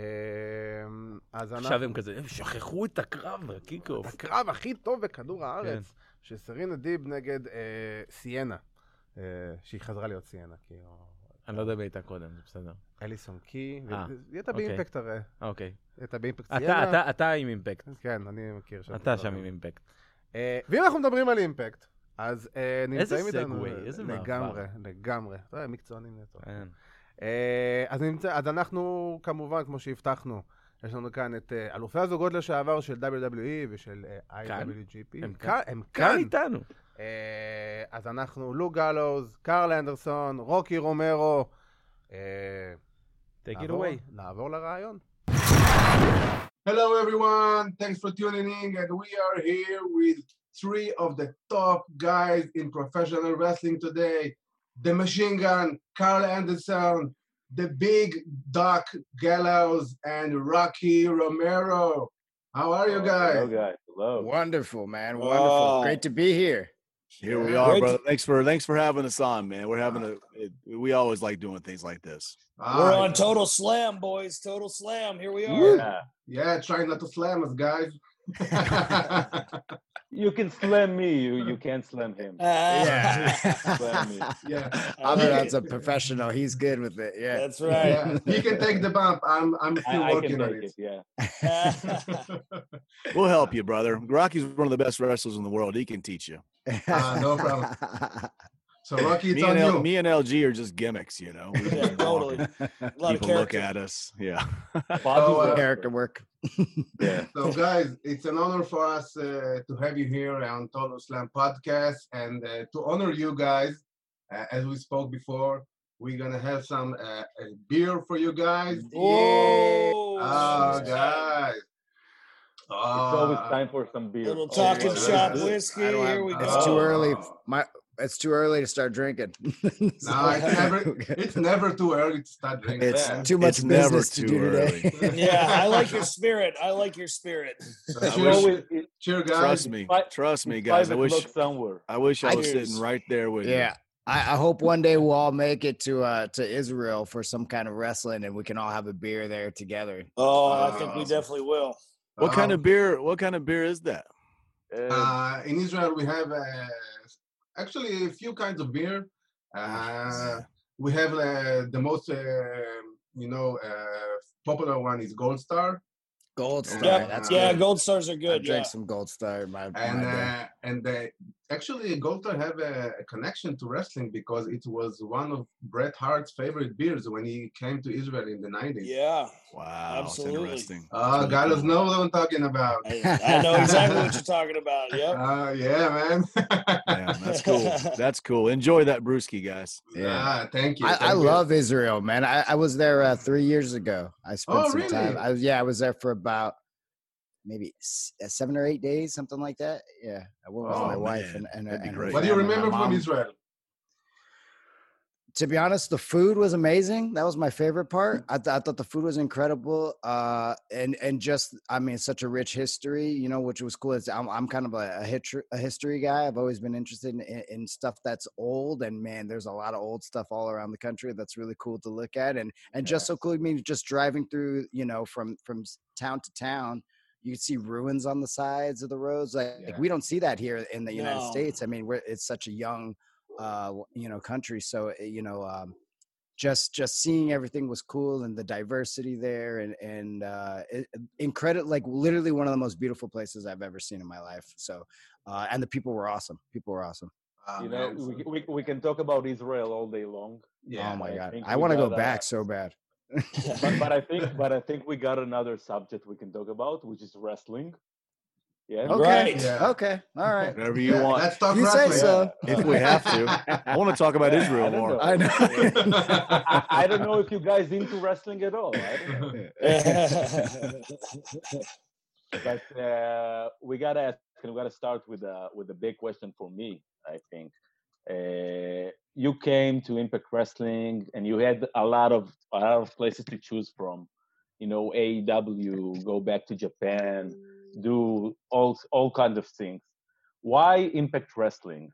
אז עכשיו אנחנו... הם כזה, הם שכחו את הקרב, הקיקוף. את הקרב הכי טוב בכדור הארץ, כן. שסרינה דיב נגד uh, סיינה. שהיא חזרה להיות סיינה, כאילו... אני לא יודע מי הייתה קודם, זה בסדר. אליסון קי, היא הייתה באימפקט הרי. אוקיי. היא הייתה באימפקט סיינה. אתה עם אימפקט. כן, אני מכיר שם. אתה שם עם אימפקט. ואם אנחנו מדברים על אימפקט, אז נמצאים איתנו... איזה סגווי, איזה מעבר. לגמרי, לגמרי. מקצוענים נטו. אז אנחנו, כמובן, כמו שהבטחנו, יש לנו כאן את אלופי הזוגות לשעבר של דאבליו דאבליו אי ושל איי דאבליו ג'י פי. הם כאן. הם כאן איתנו. אז אנחנו לוק גלוז, קרל אנדרסון, רוקי רומרו. Take it away. נעבור לרעיון. Hello everyone, thanks for tuning in, and we are here with three of the top guys in professional wrestling today. The Machine Gun, Carl Anderson, the Big Doc Gallows, and Rocky Romero. How are you guys? Hello guys, hello. Wonderful, man, wonderful. Oh. Great to be here. Here we are, brother. Thanks for thanks for having us on, man. We're having a it, we always like doing things like this. We're on Total Slam, boys. Total Slam. Here we are. Yeah, yeah trying not to slam us, guys. You can slam me. You you can't slam him. Uh, Yeah. Slam me. Yeah, Avirat's a professional. He's good with it. Yeah. That's right. yeah. He can take the bump. I'm I'm still I, I working can on take it. it. Yeah. We'll help you, brother. Rocky's one of the best wrestlers in the world. He can teach you. Ah, no problem. So Rocky, it's Me on and, you. L, me and L G are just gimmicks, you know. We Yeah, just totally. walk A and lot of people look character. at us. Yeah. Bobby's uh, a- Character work. yeah. So guys, it's an honor for us uh, to have you here on Total Slam Podcast, and uh, to honor you guys, uh, as we spoke before, we're gonna have some uh, a beer for you guys. Oh, Oh, guys. It's always Ah. time for some beer. little Oh, talking yeah. shop yeah. whiskey. I don't have- Here we It's go. too Oh. early. My it's too early to start drinking. No, it's never it's never too early to start drinking. It's man. too much It's never business to too do today. Yeah, I like your spirit. I like your spirit. So It's cheers, always it, cheers, guys. Trust me. Fi- Trust me, it's guys. five I wish o'clock somewhere. I wish I was Cheers. sitting right there with Yeah. I, I hope one day we'll all make it to uh to Israel for some kind of wrestling and we can all have a beer there together. Oh, I think we Awesome. definitely will. you. What kind Um, of beer what kind of beer is that? Uh, Uh, in Israel, we have uh, actually a few kinds of beer. Uh, we have uh, the most, uh, you know, uh, popular one is Gold Star, Gold Star. Yeah, That's yeah, good. Gold Stars are I good. drank Yeah. some Gold Star in my, and my day. uh, and the actually, Golter have a, a connection to wrestling because it was one of Bret Hart's favorite beers when he came to Israel in the nineties. Yeah, Wow, Absolutely. it's interesting. Ah, That's really Gallows cool. know what I'm talking about. I, I know exactly what you're talking about. Yep. Ah, yeah, man. Yeah, that's cool. That's cool. Enjoy that brewski, guys. Yeah. Ah, thank you. I, thank I you. love Israel, man. I, I was there uh, three years ago. I spent Oh, some really? time. I was yeah, I was there for about maybe s- uh, seven or eight days, something like that. Yeah, I went with Oh, my wife man. and and, That'd be and her great. What do you family, my remember from mom. Israel? To be honest, the food was amazing. That was my favorite part. I, th- I thought the food was incredible, uh, and and just I mean, such a rich history, you know, which was cool. It's, I'm I'm kind of a a, hitri- a history guy. I've always been interested in, in in stuff that's old, and man, there's a lot of old stuff all around the country that's really cool to look at, and and just so cool. I mean, just driving through, you know, from from s- town to town. You can see ruins on the sides of the roads. Like, Yeah. like we don't see that here in the United No. States. I mean, we're it's such a young, uh, you know, country. So you know, um, just just seeing everything was cool and the diversity there and and uh it, incredible, like literally one of the most beautiful places I've ever seen in my life. So uh and the people were awesome. People were awesome. Ah, You know, man, we, so- we, we can talk about Israel all day long. yeah. Oh my I god, think I we want to go got, back uh, so bad. But, but I think but I think we got another subject we can talk about, which is wrestling. Yeah. Okay, Right. Yeah. okay, all right. Whatever you Yeah, want. let's talk You say wrestling. so. If we have to. I want to talk about Yeah, Israel I don't more. know. I know. I, I, I don't know if you guys into wrestling at all. I don't know. But uh, we gotta ask, and we gotta start with a with a big question for me. I think uh, you came to Impact Wrestling, and you had a lot of a lot of places to choose from. You know, A E W, go back to Japan, do all all kinds of things. Why Impact Wrestling?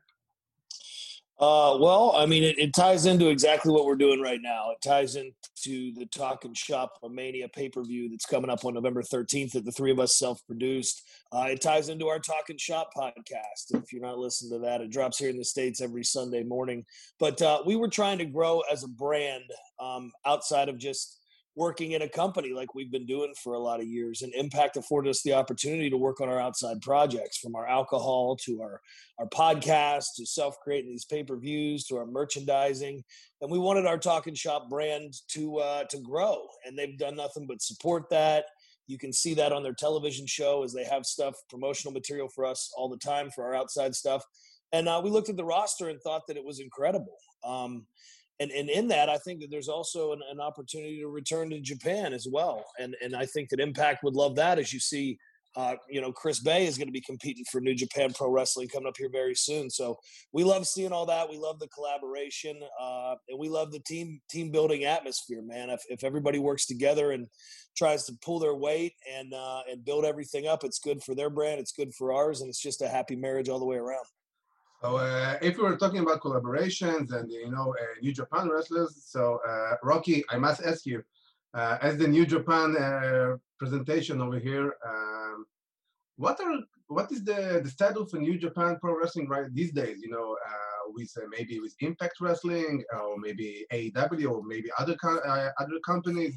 Uh, well, I mean, it, it ties into exactly what we're doing right now. It ties into the Talk and Shop Mania pay-per-view that's coming up on November thirteenth that the three of us self-produced. Uh, it ties into our Talk and Shop podcast. If you're not listening to that, it drops here in the States every Sunday morning. But uh, we were trying to grow as a brand um, outside of just working in a company like we've been doing for a lot of years. And Impact afforded us the opportunity to work on our outside projects, from our alcohol to our our podcast to self-creating these pay-per-views to our merchandising. And we wanted our Talk and Shop brand to uh, to grow, and they've done nothing but support that. You can see that on their television show as they have stuff, promotional material for us all the time for our outside stuff. And uh, we looked at the roster and thought that it was incredible. Um, and, and in that, I think that there's also an, an opportunity to return to Japan as well. And, and I think that Impact would love that, as you see Uh, you know, Chris Bay is going to be competing for New Japan Pro Wrestling coming up here very soon. So we love seeing all that. We love the collaboration, uh, and we love the team team building atmosphere, man. If, if everybody works together and tries to pull their weight and uh, and build everything up, it's good for their brand. It's good for ours, and it's just a happy marriage all the way around. So uh, if we were talking about collaborations and, you know, uh, New Japan wrestlers, so uh, Rocky, I must ask you, uh, as the New Japan uh, presentation over here, um, what are what is the, the status of New Japan Pro Wrestling right these days? You know, uh, with uh, maybe with Impact Wrestling or maybe A E W or maybe other co- uh, other companies.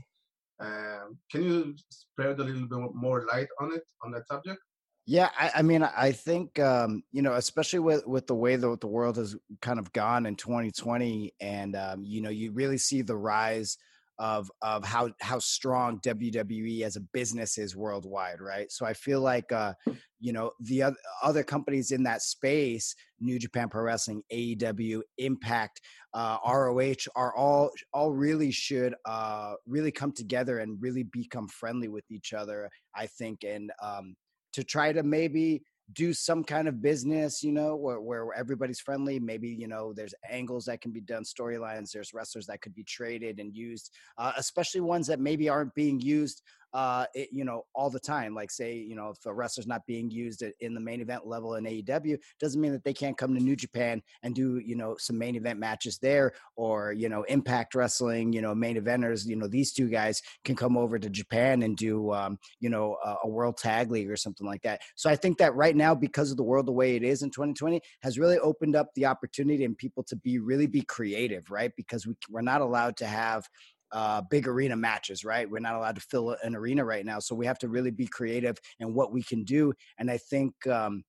Um, can you spread a little bit more light on it on that subject? Yeah, I, I mean, I think um, you know, especially with with the way that the world has kind of gone in twenty twenty, and um, you know, you really see the rise of of how how strong W W E as a business is worldwide, right? So I feel like uh, you know, the other other companies in that space, New Japan Pro Wrestling, A E W, Impact, uh, R O H, are all all really should uh, really come together and really become friendly with each other, I think, and um, to try to maybe do some kind of business, you know, where, where everybody's friendly. Maybe, you know, there's angles that can be done, storylines, there's wrestlers that could be traded and used, uh, especially ones that maybe aren't being used, uh, it, you know, all the time. Like say, you know, if a wrestler's not being used in the main event level in A E W, doesn't mean that they can't come to New Japan and do, you know, some main event matches there, or, you know, Impact Wrestling, you know, main eventers, you know, these two guys can come over to Japan and do, um, you know, a, a world tag league or something like that. So I think that right now, because of the world the way it is in twenty twenty, has really opened up the opportunity and people to be really be creative, right? Because we, we're not allowed to have uh, big arena matches, right? We're not allowed to fill an arena right now. So we have to really be creative in what we can do. And I think, um,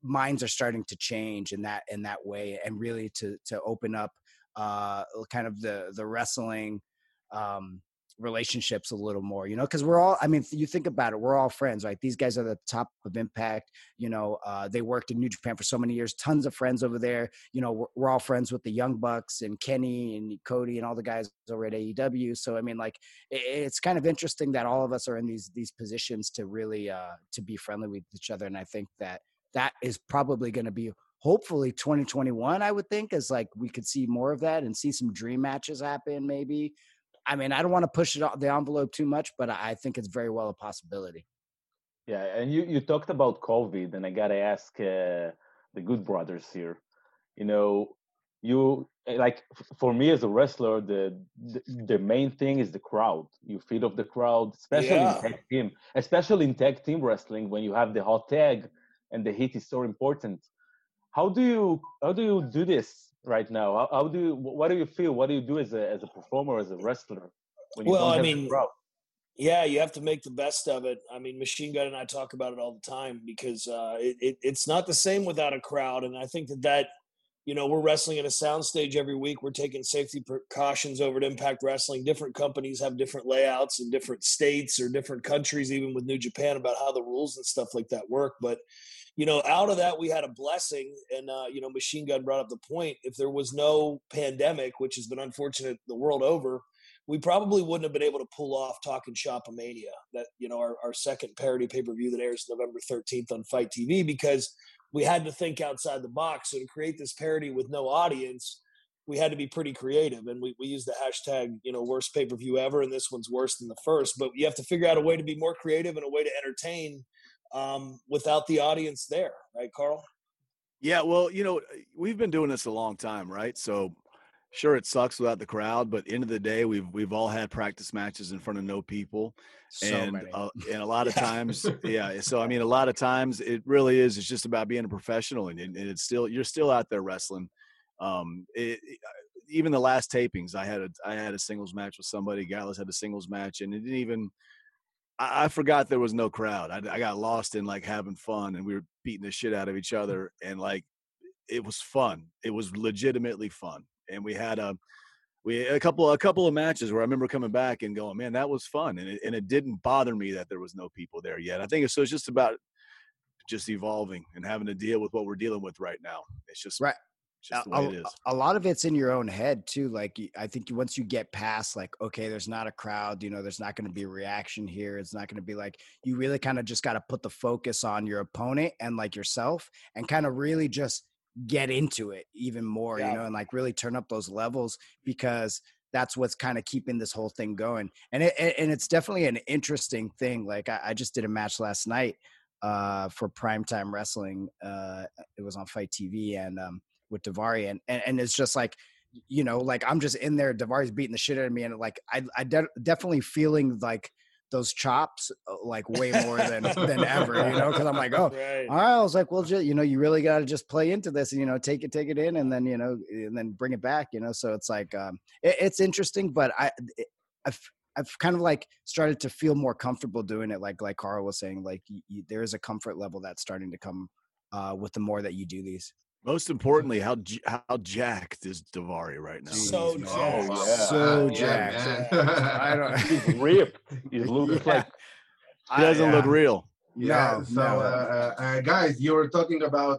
minds are starting to change in that in that way, and really to to open up uh, kind of the the wrestling um, relationships a little more, you know, because we're all, I mean, you think about it, we're all friends, right? These guys are the top of Impact, you know, uh, they worked in New Japan for so many years, tons of friends over there, you know, we're, we're all friends with the Young Bucks and Kenny and Cody and all the guys over at A E W. So, I mean, like, it, it's kind of interesting that all of us are in these, these positions to really, uh, to be friendly with each other. And I think that that is probably going to be, hopefully twenty twenty-one, I would think, is like, we could see more of that and see some dream matches happen maybe. I mean, I don't want to push it the envelope too much, but I think it's very well a possibility. Yeah, and you, you talked about COVID, and I gotta ask uh, the Good Brothers here. You know, you like for me as a wrestler, the, the the main thing is the crowd. You feed off the crowd, especially Yeah. in tag team, especially in tag team wrestling when you have the hot tag and the heat is so important. How do you how do you do this right now? How, how do you what do you feel? What do you do as a as a performer, as a wrestler when you Well, don't I have mean, the crowd? Yeah, you have to make the best of it. I mean, Machine Gun and I talk about it all the time because uh, it, it, it's not the same without a crowd. And I think that that, you know, we're wrestling in a soundstage every week. We're taking safety precautions over at Impact Wrestling. Different companies have different layouts in different states or different countries, even with New Japan, about how the rules and stuff like that work. But, you know, out of that, we had a blessing. And, uh, you know, Machine Gun brought up the point. If there was no pandemic, which has been unfortunate the world over, we probably wouldn't have been able to pull off Talkin' Shop-A-Mania, that, you know, our, our second parody pay-per-view that airs November thirteenth on Fight T V, because we had to think outside the box. So to create this parody with no audience, we had to be pretty creative. And we, we used the hashtag, you know, worst pay-per-view ever, and this one's worse than the first. But you have to figure out a way to be more creative and a way to entertain um, without the audience there. Right, Carl? Yeah, well, you know, we've been doing this a long time, right? So sure, it sucks without the crowd, but end of the day, we've we've all had practice matches in front of no people, So and many. uh, and a lot of Yeah. times, yeah. So I mean, a lot of times it really is. It's just about being a professional, and, and it's still you're still out there wrestling. Um, it, it, even the last tapings, I had a I had a singles match with somebody. Gallus had a singles match, and it didn't even. I, I forgot there was no crowd. I, I got lost in like having fun, and we were beating the shit out of each other, and like it was fun. It was legitimately fun. And we had a we a couple a couple of matches where I remember coming back and going, man, that was fun, and it, and it didn't bother me that there was no people there yet. I think it's so it's just about just evolving and having to deal with what we're dealing with right now. It's just Right. it's just the a, way it is. a lot of it's in your own head too. Like, I think once you get past like, okay, there's not a crowd, you know, there's not going to be a reaction here. It's not going to be like, you really kind of just got to put the focus on your opponent and like yourself and kind of really just get into it even more, Yeah. you know, and like really turn up those levels, because that's what's kind of keeping this whole thing going. And it, and it's definitely an interesting thing. Like I, I just did a match last night uh, for Primetime Wrestling. Uh, it was on Fight T V and um, with Daivari, and, and and it's just like, you know, like I'm just in there. Davari's beating the shit out of me, and like I I de- definitely feeling like those chops uh, like way more than than ever, you know, because I'm like, oh, Right. all right. I was like, well, just, you know, you really got to just play into this and, you know, take it, take it in, and then, you know, and then bring it back, you know? So it's like, um, it, it's interesting, but I, it, I've, I've kind of like started to feel more comfortable doing it. Like, like Carl was saying, like you, you, there is a comfort level that's starting to come uh, with the more that you do these. Most importantly, how j- how jacked is Daivari right now? So Jeez, jacked. Oh, yeah. So Yeah, jacked. man. I don't, He's ripped. He looks Yeah. like He doesn't yeah. look real. Yeah. No, so, no. uh, uh, guys, you were talking about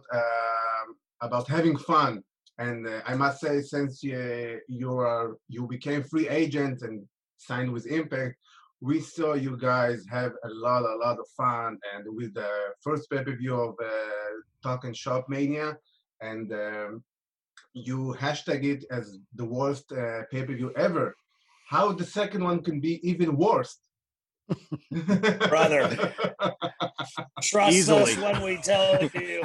um about having fun, and uh, I must say, since you you are you became free agent and signed with Impact, we saw you guys have a lot, a lot of fun, and with the first pay per view of uh, Talkin' Shop Mania, and um, you hashtag it as the worst uh, pay per view ever. How the second one can be even worse? Brother. Trust Easily. us when we tell you.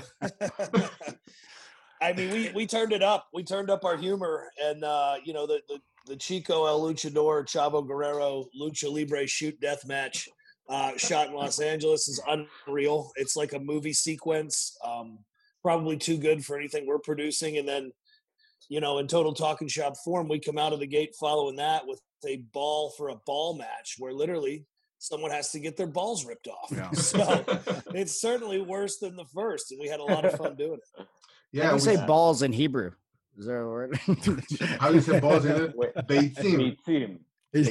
I mean, we, we turned it up. We turned up our humor, and uh, you know, the, the the Chico El Luchador Chavo Guerrero Lucha Libre shoot death match uh, shot in Los Angeles is unreal. It's like a movie sequence, um, probably too good for anything we're producing. And then, you know, in total Talking Shop form, we come out of the gate following that with a ball for a ball match, where literally someone has to get their balls ripped off. Yeah. So it's certainly worse than the first, and we had a lot of fun doing it. Yeah, Yeah, you we say say balls in Hebrew. Is there a word? how do you say balls in it? Wait, Beitzim. Beitzim.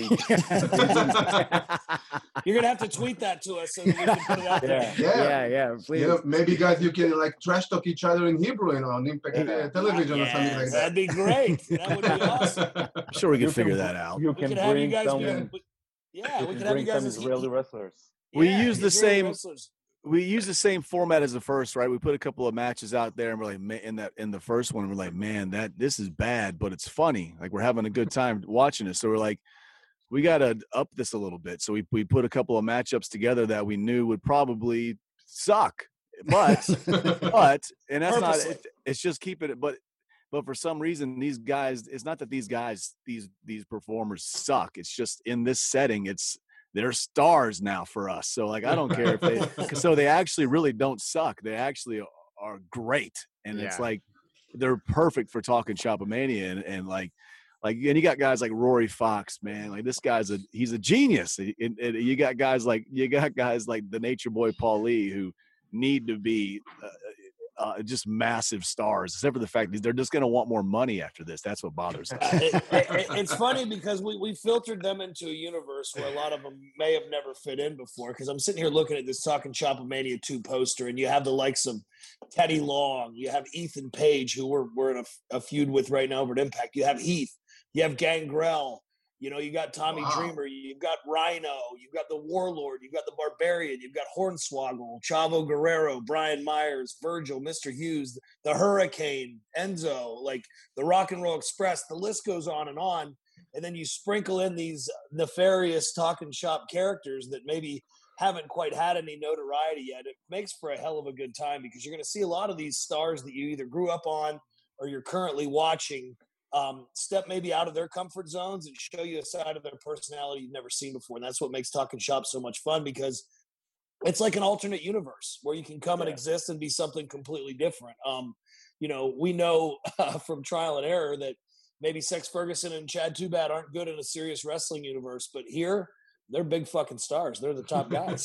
You're gonna have to tweet that to us so that we can put it out there. Yeah. Yeah. yeah, yeah, please. You know, maybe guys, you can like trash talk each other in Hebrew, you know, on Impact uh, Television or something like that. That'd be great. That would be awesome. I'm sure we can You figure can- that out. You We can could have you bring guys some. be. Yeah. Yeah, You we can could have you bring guys some as Israeli wrestlers. We yeah, use the Israeli same- wrestlers. We use the same format as the first, right? We put a couple of matches out there, and we're like, man, in that in the first one, we're like, man, that this is bad, but it's funny. Like we're having a good time watching it. So we're like, we got to up this a little bit. So we we put a couple of matchups together that we knew would probably suck, but but and that's not. Purposely. It, it's just keeping it, but. But for some reason, these guys, it's not that these guys, these these performers suck. It's just in this setting, it's they're stars now for us. So like, I don't care if they, so they actually really don't suck. They actually are great. And it's Yeah. like, they're perfect for talking Shopomania. And, and like, like, and you got guys like Rory Fox, man, like this guy's a, he's a genius. And, and you got guys like, you got guys like the Nature Boy Paul Lee who need to be uh, uh, just massive stars, except for the fact that they're just going to want more money after this. That's what bothers us. It- it- it's funny because we, we filtered them into a universe where a lot of them may have never fit in before. Because I'm sitting here looking at this Talking Shopomania two poster, and you have the likes of Teddy Long, you have Ethan Page, who we're we're in a, a feud with right now over at Impact. You have Heath, you have Gangrel. You know, you got Tommy Wow. Dreamer, you've got Rhino, you've got the Warlord, you've got the Barbarian, you've got Hornswoggle, Chavo Guerrero, Brian Myers, Virgil, Mister Hughes, the Hurricane, Enzo, like the Rock and Roll Express. The list goes on and on. And then you sprinkle in these nefarious talking shop characters that maybe haven't quite had any notoriety yet. It makes for a hell of a good time because you're going to see a lot of these stars that you either grew up on or you're currently watching um, step maybe out of their comfort zones and show you a side of their personality you've never seen before. And that's what makes Talking Shop so much fun, because it's like an alternate universe where you can come and Yeah. exist and be something completely different. Um, you know, we know uh, from trial and error that maybe Sex Ferguson and Chad Too Bad aren't good in a serious wrestling universe, but here they're big fucking stars. They're the top guys.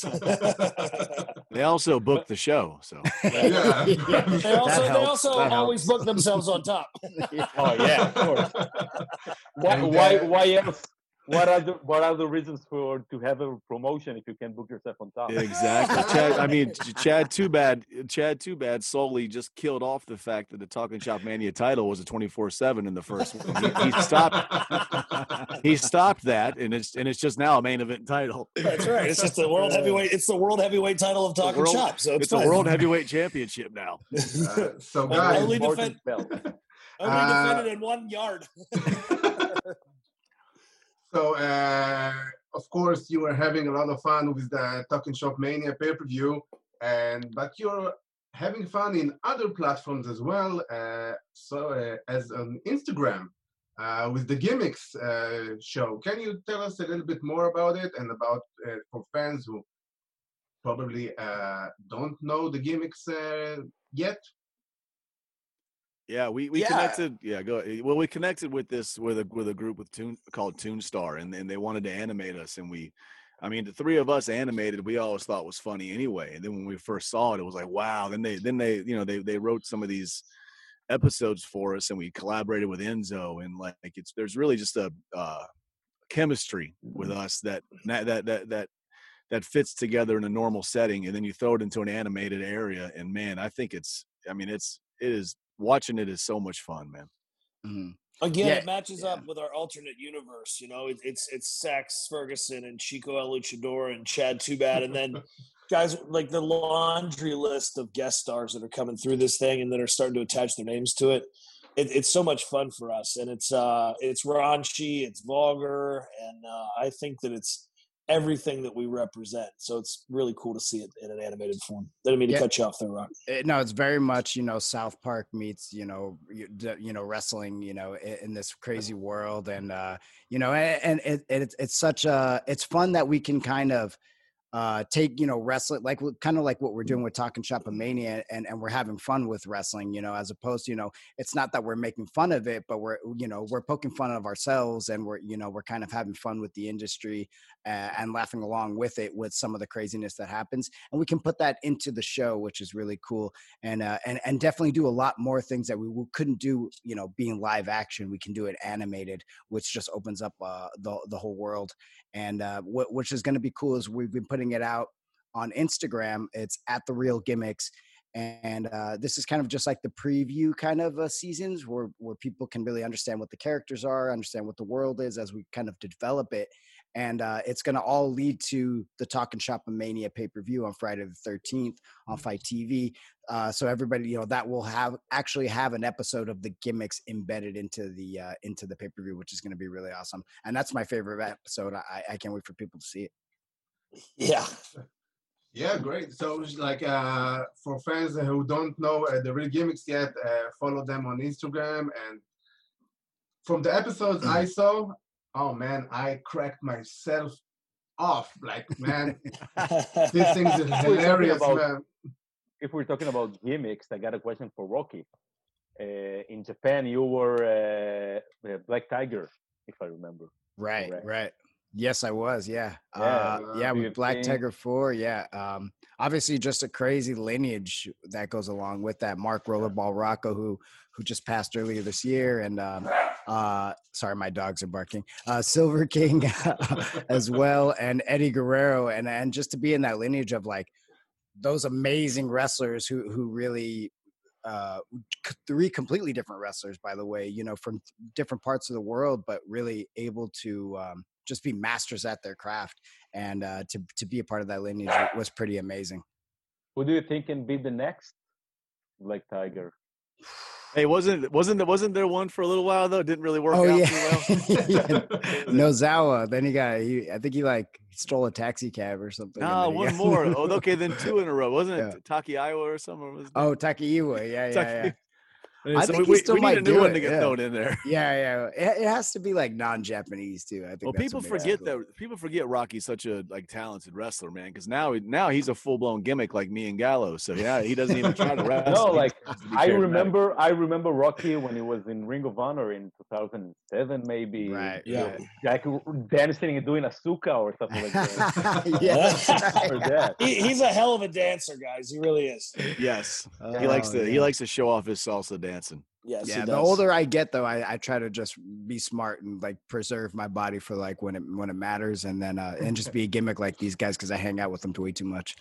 They also booked the show. So Yeah. They That also, they helps. also That always helps. book themselves on top. Oh yeah, of course. why, And, why, uh, why else? What are the what are the reasons for to have a promotion if you can book yourself on top? exactly. Chad, I mean, Ch- Chad Too Bad. Chad Too Bad solely just killed off the fact that the Talking Shop Mania title was a twenty-four seven in the first one. He, he stopped. He stopped that, and it's and it's just now a main event title. That's right. It's just the world heavyweight. It's the world heavyweight title of Talking world- Shop. So it's, It's a fine. world heavyweight championship now. Uh, so Only guys, defend- Important belt. Only Uh, defended in one yard. so uh, of course you were having a lot of fun with the Talking Shop Mania pay-per-view, and but you're having fun in other platforms as well. Uh, so uh, as on Instagram uh, with the Gimmicks uh, show. Can you tell us a little bit more about it and about uh, for fans who probably uh, don't know the Gimmicks uh, yet? Yeah, we, we Yeah. connected. Yeah, go. Well, we connected with this with a with a group with Toon called Toonstar, and and they wanted to animate us, and we, I mean, the three of us animated. We always thought was funny anyway, and then when we first saw it, it was like, wow. Then they then they you know they they wrote some of these episodes for us, and we collaborated with Enzo, and like it's there's really just a uh, chemistry with us that that that that that that fits together in a normal setting, and then you throw it into an animated area, and man, I think it's. I mean, it's it is. Watching it is so much fun, man. Mhm. Again, Yeah, it matches yeah. up with our alternate universe. You know, it, it's it's Sax Ferguson and Chico El Luchador and Chad Too Bad, and then guys like the laundry list of guest stars that are coming through this thing and that are starting to attach their names to it. it it's so much fun for us, and it's uh it's raunchy, it's vulgar, and uh, I think that it's everything that we represent. So it's really cool to see it in an animated form. Didn't mean to Yeah. cut you off there, Rock. It- no, it's very much, you know, South Park meets, you know, you, d- you know, wrestling, you know, in, in this crazy world. And, uh, you know, and, and it, it, it's, it's such a, it's fun that we can kind of, uh, take, you know, wrestling, like kind of like what we're doing with Talking Shop of Mania, and, and we're having fun with wrestling, you know, as opposed to, you know, it's not that we're making fun of it, but we're, you know, we're poking fun of ourselves, and we're, you know, we're kind of having fun with the industry uh, and laughing along with it, with some of the craziness that happens. And we can put that into the show, which is really cool. And, uh, and, and definitely do a lot more things that we couldn't do, you know, being live action. We can do it animated, which just opens up uh, the, the whole world. And uh, what, which is going to be cool is we've been putting it out on Instagram. It's at The Real Gimmicks. And uh, this is kind of just like the preview kind of uh, seasons where, where people can really understand what the characters are, understand what the world is as we kind of develop it. And uh, it's going to all lead to the Talking Shop of Mania pay-per-view on Friday the thirteenth on Fight T V. Uh, so everybody, you know, that will have actually have an episode of the gimmicks embedded into the uh, into the pay-per-view, which is going to be really awesome. And that's my favorite episode. I, I can't wait for people to see it. Yeah. Yeah, great. So, like, uh, for fans who don't know uh, the Real Gimmicks yet, uh, follow them on Instagram. And from the episodes I saw, oh man, I cracked myself off. Like, man, this thing is hilarious, about, man. If we're talking about gimmicks, I got a question for Rocky. Uh, in Japan, you were uh, Black Tiger, if I remember. Right, correct. right. Yes, I was. Yeah. Yeah, Uh, uh, yeah. With you've Black seen- Tiger four. Yeah. Um, obviously just a crazy lineage that goes along with that. Mark Rollerball Rocco, who, who just passed earlier this year. And, um, uh, sorry, my dogs are barking, uh, Silver King as well. And Eddie Guerrero. And, and just to be in that lineage of like those amazing wrestlers who, who really, uh, three completely different wrestlers, by the way, you know, from different parts of the world, but really able to, um, just be masters at their craft, and uh, to to be a part of that lineage was pretty amazing. Who do you think can be the next Black Tiger? Hey, wasn't wasn't wasn't there one for a little while though? It didn't really work Oh out yeah, too well. yeah. Nozawa. Then he got. He, I think he like stole a taxi cab or something. No, one got... more. Oh, okay, then two in a row, wasn't it? Yeah. Taki Iowa or something? Or was it? Oh, Takeiwa. Yeah, yeah, Taki- yeah. I think think he we, still we need might a new do one it, to get yeah. thrown in there. Yeah, yeah. It, it has to be like non-Japanese too. I think. Well, that's people what makes forget it cool. that people forget Rocky's such a like talented wrestler, man. Because now now he's a full blown gimmick like me and Gallo. So yeah, he doesn't even try to wrestle. No, He like just has to be I charismatic. remember, I remember Rocky when he was in Ring of Honor in two thousand seven, maybe. Right, you know, yeah. like dancing and doing a suka or something like that. yeah. Or that. He, he's a hell of a dancer, guys. He really is. Yes, he likes Oh, to he yeah. likes to show off his salsa dancing. Yes, Yeah, he the does. older I get, though, I, I try to just be smart and like preserve my body for like when it when it matters, and then uh, and just be a gimmick like these guys because I hang out with them way too much.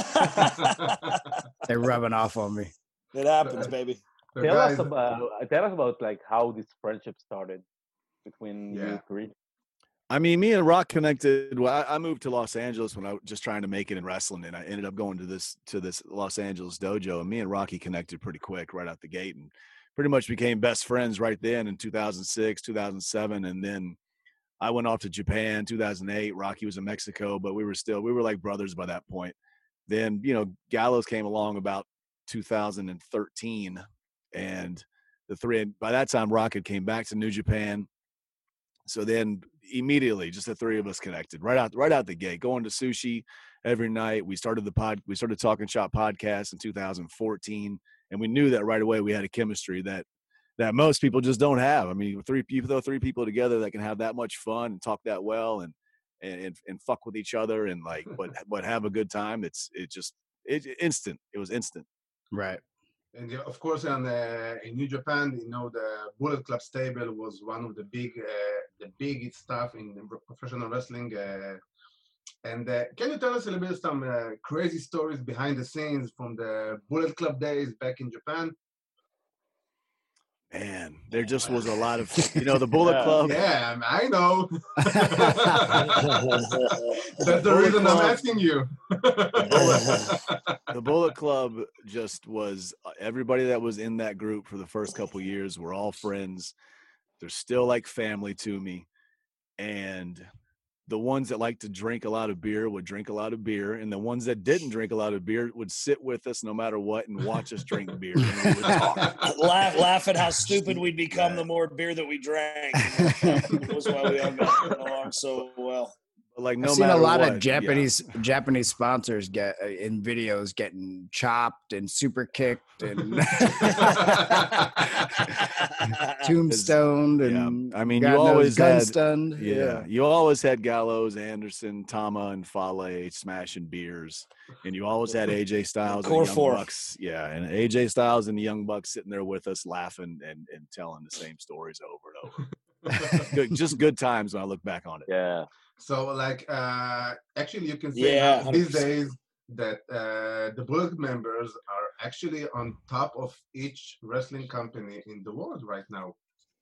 They're rubbing off on me. It happens, baby. The Tell guys- us about, tell us about like how this friendship started between Yeah. you three. I mean, me and Rock connected. Well, I, I moved to Los Angeles when I was just trying to make it in wrestling, and I ended up going to this to this Los Angeles dojo. And me and Rocky connected pretty quick right out the gate, and pretty much became best friends right then in two thousand six, two thousand seven, and then I went off to Japan two thousand eight. Rocky was in Mexico, but we were still we were like brothers by that point. Then you know Gallows came along about two thousand thirteen, and the three by that time Rock had came back to New Japan. So then immediately, just the three of us connected right out right out the gate, going to sushi every night. We started the pod, we started Talking Shop podcast in two thousand fourteen, and we knew that right away we had a chemistry that that most people just don't have. I mean, three people, throw three people together that can have that much fun and talk that well and and and fuck with each other and like, but but have a good time. It's it just it instant. It was instant. Right. And yeah, of course, in, uh, in New Japan, you know, the Bullet Club stable was one of the big, uh, the big stuff in professional wrestling. Uh, and uh, can you tell us a little bit of some uh, crazy stories behind the scenes from the Bullet Club days back in Japan? Man, there just was a lot of, you know, the Bullet Yeah. Club. Yeah, I know. That's the Bullet reason I'm Club. asking you. The Bullet Club just was everybody that was in that group for the first couple years were all friends. They're still like family to me. And the ones that like to drink a lot of beer would drink a lot of beer. And the ones that didn't drink a lot of beer would sit with us no matter what and watch us drink beer. And we would talk. laugh, laugh at how stupid we'd become the more beer that we drank. That was why we all got along so well. Like no I've seen a matter lot what, of Japanese yeah. Japanese sponsors get uh, in videos getting chopped and super kicked and tombstoned and yeah. I mean, God you always gun had stunned. Yeah, yeah, you always had Gallows, Anderson, Tama, and Fale smashing beers, and you always had A J Styles and the Young four. Bucks. Yeah, and A J Styles and the Young Bucks sitting there with us, laughing and, and telling the same stories over and over. good, just good times when I look back on it. Yeah. So, like, uh, actually, you can say yeah, these days that uh, the board members are actually on top of each wrestling company in the world right now.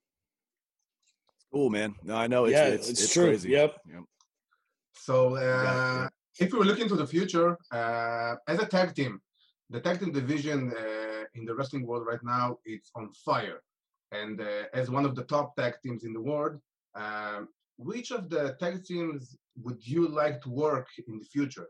Cool, man. No, I know it's yeah, it's, it's, it's true. crazy. Yep. yep. So, uh, if we were looking to the future, uh, as a tag team, the tag team division uh, in the wrestling world right now, it's on fire. And uh, as one of the top tag teams in the world, um, which of the tag teams would you like to work in the future?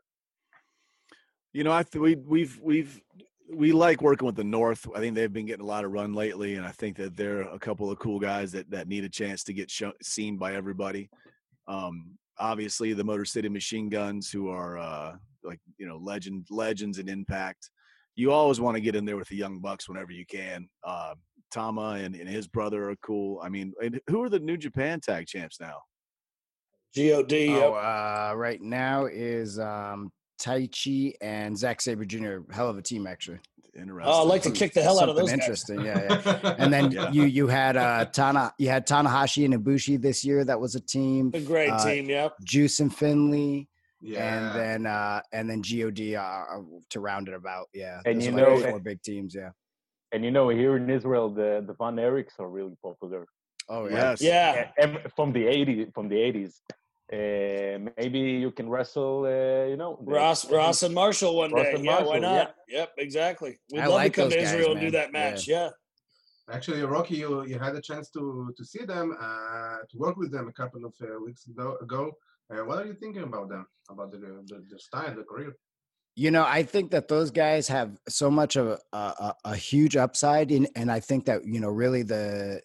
You know, I th- we we've we've we like working with the North. I think they've been getting a lot of run lately, and I think that they're a couple of cool guys that that need a chance to get show, seen by everybody. Um, obviously, the Motor City Machine Guns, who are uh, like you know legend legends in Impact. You always want to get in there with the Young Bucks whenever you can. Uh, Tama and, and his brother are cool. I mean, who are the New Japan Tag Champs now? G O D. Oh, yep. uh, right now is um, Taichi and Zack Sabre Junior Hell of a team, actually. Interesting. Oh, I'd like to kick the hell Something out of those interesting. guys. Yeah, yeah. And then yeah. you you had uh, Tana, you had Tanahashi and Ibushi this year. That was a team. A great uh, team. Yep. Juice and Finley. Yeah. And then uh, and then G O D uh, to round it about. Yeah. And Those you are know, like four big teams. Yeah. And you know, here in Israel, the the Von Erichs are really popular. Oh yeah. Yes. Yeah. And from the eighties, from the eighties. Uh, maybe you can wrestle, uh, you know, the, Ross, Ross and Marshall one Ross day. and Yeah, Marshall, why not? yeah. Yep, exactly. We'd I love like to come those to guys, Israel and do man. that match. Yeah. Yeah. Actually, Rocky, you, you had a chance to to see them, uh, to work with them a couple of uh, weeks ago. ago. Uh, what are you thinking about them, about the, the, the style, the career? You know, I think that those guys have so much of a, a, a huge upside, in, and I think that, you know, really the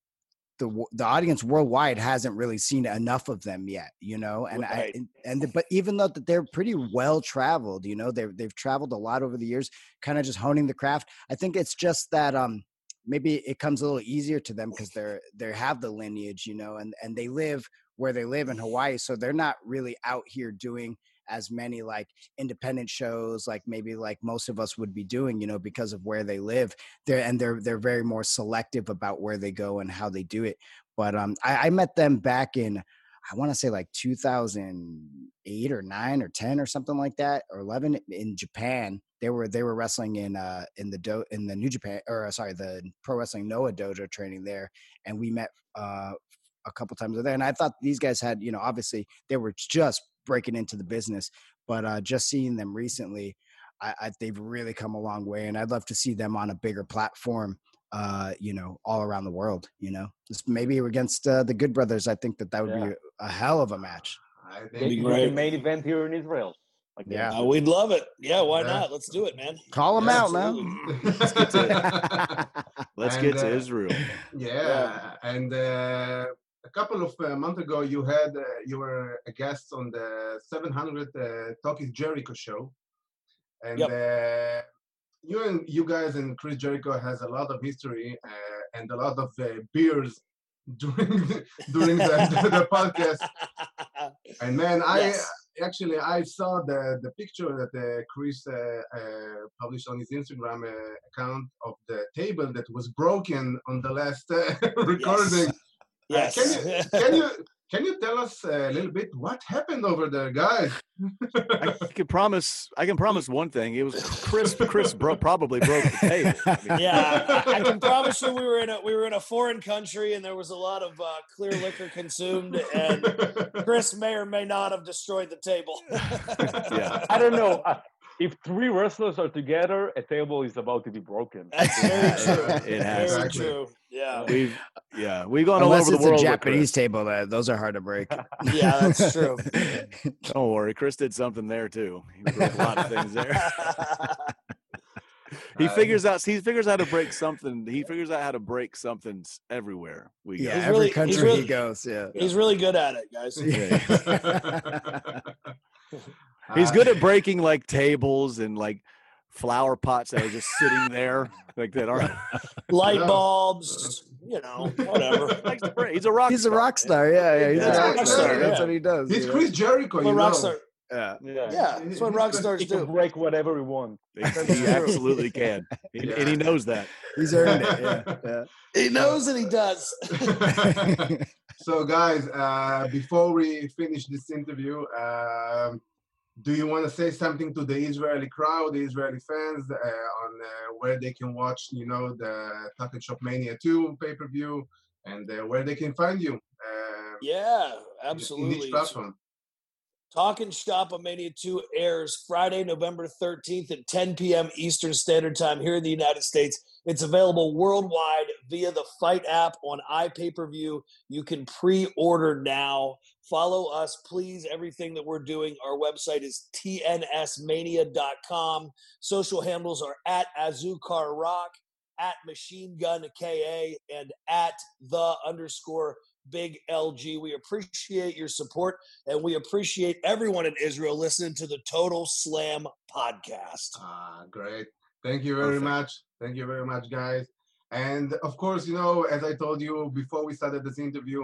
the the audience worldwide hasn't really seen enough of them yet, you know, and Right. I and, and the, but even though that they're pretty well traveled, you know, they've they've traveled a lot over the years, kind of just honing the craft. I think it's just that um maybe it comes a little easier to them because they're they have the lineage, you know, and and they live where they live in Hawaii, so they're not really out here doing as many like independent shows like maybe like most of us would be doing, you know, because of where they live there. And they're, they're very more selective about where they go and how they do it. But um, I, I met them back in, I want to say like two thousand eight or nine or ten or something like that, or eleven in Japan. They were, they were wrestling in, uh, in the do in the New Japan, or uh, sorry, the Pro Wrestling Noah dojo training there. And we met uh, a couple times there. And I thought these guys had, you know, obviously they were just breaking into the business, but uh, just seeing them recently, I, I, they've really come a long way, and I'd love to see them on a bigger platform, uh, you know, all around the world. You know, just maybe against uh, the Good Brothers. I think that that would Yeah. be a hell of a match. I Be think great. the main event here in Israel. Like Yeah. Uh, we'd love it. Yeah, why Yeah. not? Let's do it, man. Call them Yeah, out, man. Let's get to, let's And, get to uh, Israel. Yeah, and uh, a couple of uh, months ago, you had uh, you were a guest on the seven hundred uh, Talk is Jericho show, and Yep. uh, you and you guys and Chris Jericho has a lot of history uh, and a lot of uh, beers during the, during the, the, the podcast. And man, I Yes. actually I saw the the picture that uh, Chris uh, uh, published on his Instagram uh, account of the table that was broken on the last uh, recording. Yes. Uh, can you can you can you tell us a little bit what happened over there, guys? I can promise. I can promise one thing. It was Chris. Chris bro- probably broke the table. I mean, Yeah, I, I can promise you we were in a we were in a foreign country and there was a lot of uh, clear liquor consumed, and Chris may or may not have destroyed the table. Yeah. I don't know. Uh, if three wrestlers are together, a table is about to be broken. That's very true. It has Very to be. true. Yeah. We've yeah we've gone Unless all over it's the world. a with Japanese Chris. table, that those are hard to break. Yeah, that's true. Don't worry, Chris did something there too. He broke a lot of things there. he Uh, figures out. He figures out how to break something. He figures out how to break something everywhere we go. Yeah, He's every really- he's country really- he goes. Yeah. He's really good at it, guys. He's uh, good at breaking like tables and like flower pots that are just sitting there like that aren't. Light Yeah. bulbs, you know, whatever. likes to break. He's a rock. He's a star. rock star. Yeah, yeah. He's Yeah, a rock yeah, star. yeah. That's what he does. He's you know? Chris Jericho, I'm you a rock know. star. Yeah. Yeah. Yeah, that's what rock stars He can do. break whatever we want. He, he absolutely can, He- Yeah. and he knows that. He's earned it. Yeah. He knows that he does. yeah. So, guys, uh, before we finish this interview, um, do you want to say something to the Israeli crowd, the Israeli fans, uh, on uh, where they can watch, you know, the Talk and Shop Mania two pay-per-view, and uh, where they can find you? Uh, Yeah, In absolutely. each platform. Talking Shop Mania two airs Friday, November thirteenth at ten p.m. Eastern Standard Time here in the United States. It's available worldwide via the Fight app on iPay-per-view. You can pre-order now. Follow us, please. Everything that we're doing, our website is T N S mania dot com. Social handles are at Azukar Rock, at Machine Gun K A, and at the underscore Big L G. We appreciate your support, and we appreciate everyone in Israel listening to the Total Slam podcast. Ah, great. Thank you very Perfect. much. Thank you very much, guys. And of course, you know, as I told you before we started this interview,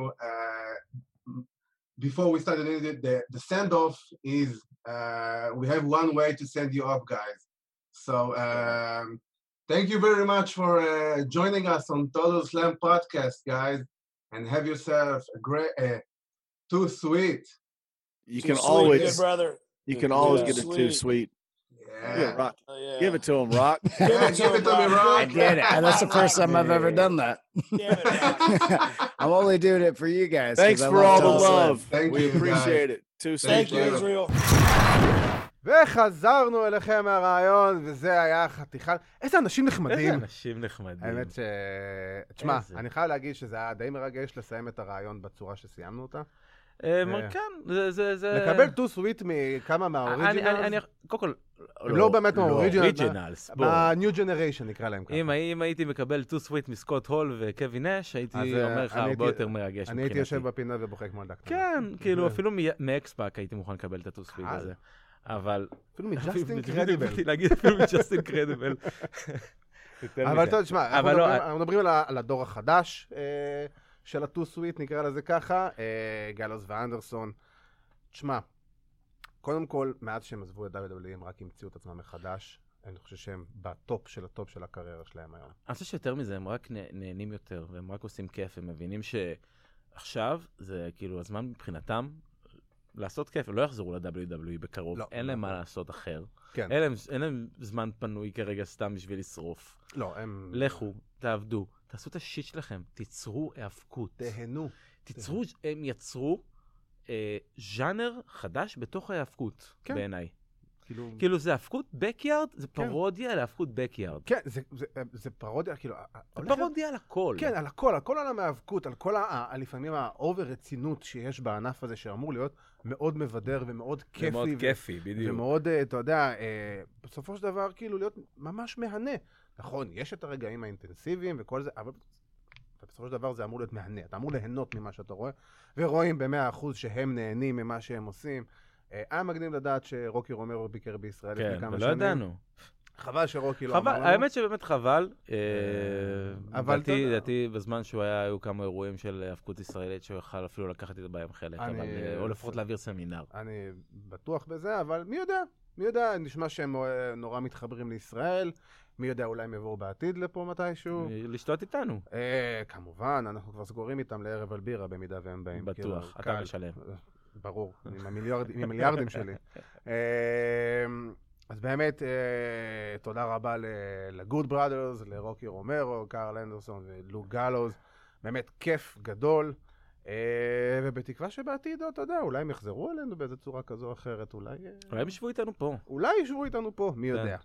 uh, before we started it, the, the send-off is, uh, we have one way to send you off, guys. So um, thank you very much for uh, joining us on Total Slam podcast, guys. And have yourself a great, uh, too sweet. You Too can sweet, always, good brother. you can always Yeah. get it too sweet. Yeah. Yeah, Rock. Oh, yeah. Give it to him, Rock. Give Yeah, it to give him, it to me, Rock. Rock. I did it. And that's the first time I've ever done that. Damn it, Rock. I'm only doing it for you guys. 'cause Thanks I for all the Total Slam. love. Thank we you, guys. appreciate it. Too Thank Thank sweet. you, you. Israel. וחזרנו אליכם מהרעיון, וזה היה חתיכה... איזה אנשים איזה נחמדים. אנשים נחמדים. האמת ש... תשמע, איזה. אני חייב להגיד שזה היה די מרגש לסיים את הרעיון בצורה שסיימנו אותה. אה, כן, זה- זה... זה- לקבל טו סוויט מכמה אני- אני- אני- מהאוריג'ינלס, קודם כל... הם לא באמת מהאוריג'ינלס, אוריג'ינלס, בוא. ב-New Generation נקרא להם ככה. אם אם הייתי מקבל טו סוויט מסקוט הול וקווין נש, הייתי אז, אה, אומר לך אני הרבה הייתי- יותר מרגש אני הייתי מבחינתי. יושב בפינה ובוכה כמו ילדה קטנה. כן, כאילו זה- אפילו מ- מאקספאק הייתי מוכן לקבל את הטו סוויט קל. הזה. אבל... אפילו מג'סטין בדיוק קרדיבל. באתי להגיד אפילו מג'סטין קרדיבל. אבל אתה תשמע, אנחנו אבל לא, מדברים- אנחנו מדברים על ה- על הדור החדש אה, של הטו סוויט, נקרא לזה ככה, אה, גלוס ואנדרסון. תשמע, קודם כל, מאז שהם עזבו את דאבליו דאבליו אי הם רק המציאו את עצמם מחדש. אני חושב שהם בטופ של הטופ של הקריירה שלהם היום. אני חושב שיותר מזה, הם רק נה- נהנים יותר, והם רק עושים כיף, הם מבינים שעכשיו זה כאילו הזמן מבחינתם לעשות כיף, הם לא יחזרו ל-דאבליו דאבליו אי בקרוב, לא, אין לא. להם מה לעשות אחר. כן. אין להם, אין להם זמן פנוי כרגע סתם בשביל לשרוף. לא, הם... לכו, תעבדו, תעשו את השיט שלכם, תיצרו היאבקות. תהנו. תיצרו, הם יצרו אה, ז'אנר חדש בתוך ההיאבקות, כן. בעיניי. כאילו... כאילו זה האבקות בקיארד, זה כן. פרודיה להאבקות בקיארד. כן, זה- זה- זה פרודיה, כאילו... זה הולך להיות- פרודיה על הכל. כן, על הכל, על כל עולם ההיאבקות, על כל ה- ה- לפעמים האובר רצינות שיש בענף הזה, שאמור להיות מאוד מבדר ומאוד זה כיפי. מאוד ו- כיפי, בדיוק. ומאוד, אה, אתה יודע, אה, בסופו של דבר, כאילו, להיות ממש מהנה. נכון, יש את הרגעים האינטנסיביים וכל זה, אבל בסופו של דבר זה אמור להיות מהנה. אתה אמור ליהנות ממה שאתה רואה, ורואים במאה אחוז שהם נהנים ממה שהם עושים. אה, היה מגניב לדעת שרוקי רומרו ביקר בישראל לפני כן, כמה ולא שנים. ידענו. חבל שרוקי לא חבל, אמר לנו. האמת שבאמת חבל. אה, אבל לדעתי- אתה יודע. לדעתי בזמן שהוא היה, היו כמה אירועים של האבקות ישראלית שהוא יכל אפילו לקחת את בהם חלק, אני- אבל, אה, או לפחות להעביר סמינר. אני בטוח בזה, אבל מי יודע? מי יודע, נשמע שהם אה, נורא מתחברים לישראל. מי יודע, אולי הם יבואו בעתיד לפה מתישהו. לשתות איתנו. אה, כמובן, אנחנו כבר סגורים איתם לערב על בירה במידה והם באים. בטוח, כאילו, אתה קל. משלם. ברור, עם המיליארד- עם המיליארדים שלי. אה, אז באמת, אה, תודה רבה לגוד בראדרס, לרוקי רומרו, קארל אנדרסון ולוק גלוז. באמת כיף גדול. אה, ובתקווה שבעתיד, אתה יודע, אולי הם יחזרו אלינו באיזו צורה כזו או אחרת, אולי... אה, אולי הם ישבו איתנו פה. אולי ישבו איתנו פה, מי כן. יודע.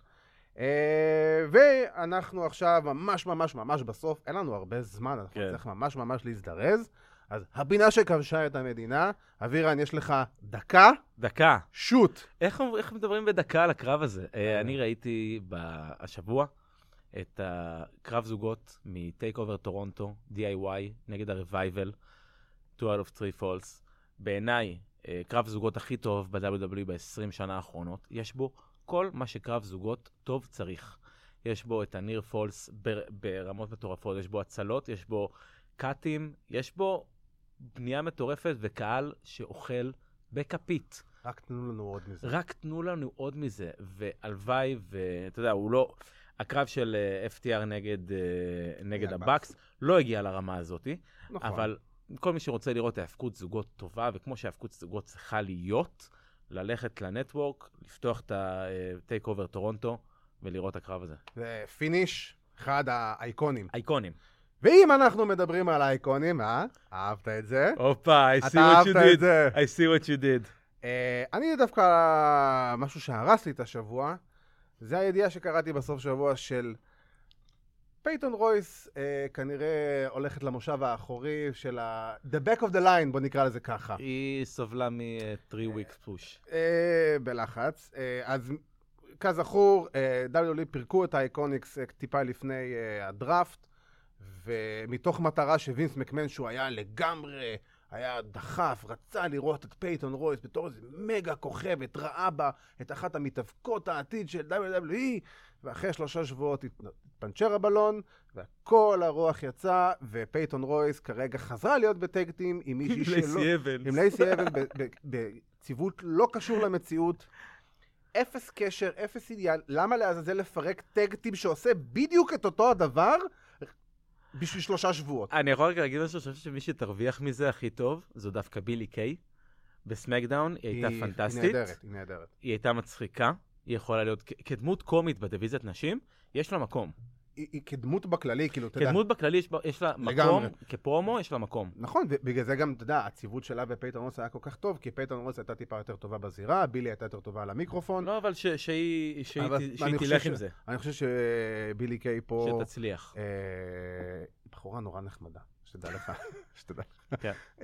אה, ואנחנו עכשיו ממש ממש ממש בסוף, אין לנו הרבה זמן, אנחנו כן. צריך ממש ממש להזדרז, אז הפינה שכבשה את המדינה, אבירן, יש לך דקה. דקה. שוט. איך, איך מדברים בדקה על הקרב הזה? אני ראיתי השבוע את הקרב זוגות מטייק אובר טורונטו, די איי וואי, נגד הרווייבל, two out of three falls. בעיניי, קרב זוגות הכי טוב ב-דאבליו דאבליו אי ב-עשרים שנה האחרונות. יש בו כל מה שקרב זוגות טוב צריך. יש בו את הניר פולס ברמות מטורפות, יש בו הצלות, יש בו קאטים, יש בו בנייה מטורפת וקהל שאוכל בכפית. רק תנו לנו עוד מזה. רק תנו לנו עוד מזה, והלוואי, ואתה יודע, הוא לא, הקרב של אף טי אר נגד, נגד הבקס לא הגיע לרמה הזאת, נכון. אבל כל מי שרוצה לראות ההפקות זוגות טובה, וכמו שההפקות זוגות צריכה להיות, ללכת לנטוורק, לפתוח את הטייק אובר טורונטו, ולראות הקרב הזה. זה פיניש, אחד האייקונים. אייקונים. ואם אנחנו מדברים על האייקונים, אה? אהבת את זה? הופה, I see what you did. I see what you did. Uh, אני דווקא, משהו שהרס לי את השבוע, זה הידיעה שקראתי בסוף שבוע של פייטון רויס, uh, כנראה הולכת למושב האחורי של ה... The back of the line, בוא נקרא לזה ככה. היא סובלה מ-three weeks push. Uh, בלחץ. Uh, אז כזכור, דאבליו דאבליו אי פירקו את האייקוניקס טיפה לפני הדראפט, ומתוך מטרה שווינס מקמן, שהוא היה לגמרי, היה דחף, רצה לראות את פייטון רויס בתור איזה מגה כוכבת, ראה בה את אחת המתאבקות העתיד של דאבליו דאבליו אי, ואחרי שלושה שבועות התפנצ'ר הבלון, וכל הרוח יצא, ופייטון רויס כרגע חזרה להיות בטקטים עם מישהי שלו. עם לייסי אבנס. עם לייסי אבנס, בציוות לא קשור למציאות. אפס קשר, אפס אידיאל. למה לעזאזל לפרק טקטים שעושה בדיוק את אותו הדבר בשביל שלושה שבועות? אני יכול רק להגיד משהו, שאני חושב שמי שתרוויח מזה הכי טוב, זו דווקא בילי קיי. בסמקדאון היא הייתה פנטסטית. היא נהדרת, היא נהדרת. היא הייתה מצחיקה. היא יכולה להיות, כדמות קומית בדיוויזיית נשים, יש לה מקום. היא כדמות בכללי, כאילו, אתה יודע. כדמות בכללי יש לה מקום, כפרומו יש לה מקום. נכון, ובגלל זה גם, אתה יודע, הציוות שלה ופייטון רוס היה כל כך טוב, כי פייטון רוס הייתה טיפה יותר טובה בזירה, בילי הייתה יותר טובה על המיקרופון. לא, אבל שהיא תלך עם זה. אני חושב שבילי קיי פה... שתצליח. בחורה נורא נחמדה, שתדע לך. שתדע לך.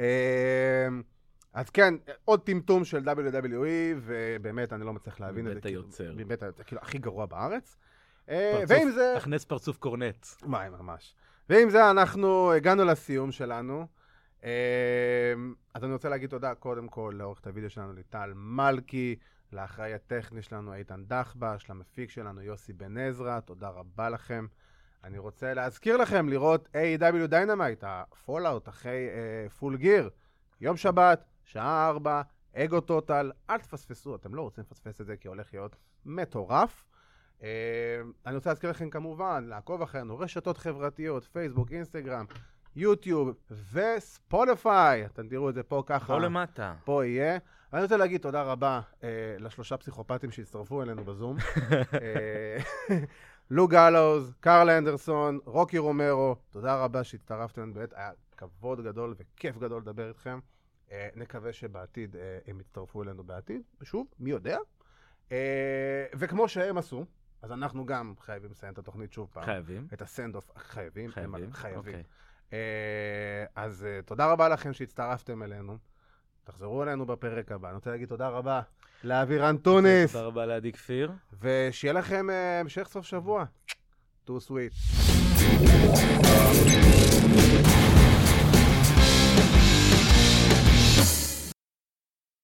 אז כן, עוד טמטום של דאבליו דאבליו אי, ובאמת אני לא מצליח להבין את זה. בית היוצר. באמת, כאילו, הכי גרוע בארץ. ועם זה... הכנס פרצוף קורנט. מה, ממש. ועם זה אנחנו הגענו לסיום שלנו. אז אני רוצה להגיד תודה קודם כל לעורכת הוידאו שלנו ליטל מלכי, לאחראי הטכני שלנו איתן דחבש, למפיק שלנו יוסי בן עזרא, תודה רבה לכם. אני רוצה להזכיר לכם לראות איי אי דאבליו Dynamite, הפולאוט אחרי פול גיר, יום שבת, שעה ארבע, אגו טוטל, אל תפספסו, אתם לא רוצים לפספס את זה כי הולך להיות מטורף. Uh, אני רוצה להזכיר לכם כמובן לעקוב אחרינו, רשתות חברתיות, פייסבוק, אינסטגרם, יוטיוב וספוטיפיי. אתם תראו את זה פה ככה. פה למטה. פה יהיה. אני רוצה להגיד תודה רבה uh, לשלושה פסיכופטים שהצטרפו אלינו בזום. uh, לו גלוז, קרל אנדרסון, רוקי רומרו, תודה רבה שהצטרפתם. באמת היה כבוד גדול וכיף גדול לדבר איתכם. Uh, נקווה שבעתיד uh, הם יצטרפו אלינו בעתיד. ושוב, מי יודע? Uh, וכמו שהם עשו, אז אנחנו גם חייבים לסיים את התוכנית שוב פעם. חייבים. את הסנד-אוף. חייבים. חייבים. חייבים. Okay. Uh, אז uh, תודה רבה לכם שהצטרפתם אלינו. תחזרו אלינו בפרק הבא. אני רוצה להגיד תודה רבה לאבירן טוניס. תודה רבה לעדי כפיר. ושיהיה לכם uh, המשך סוף שבוע. Too sweet.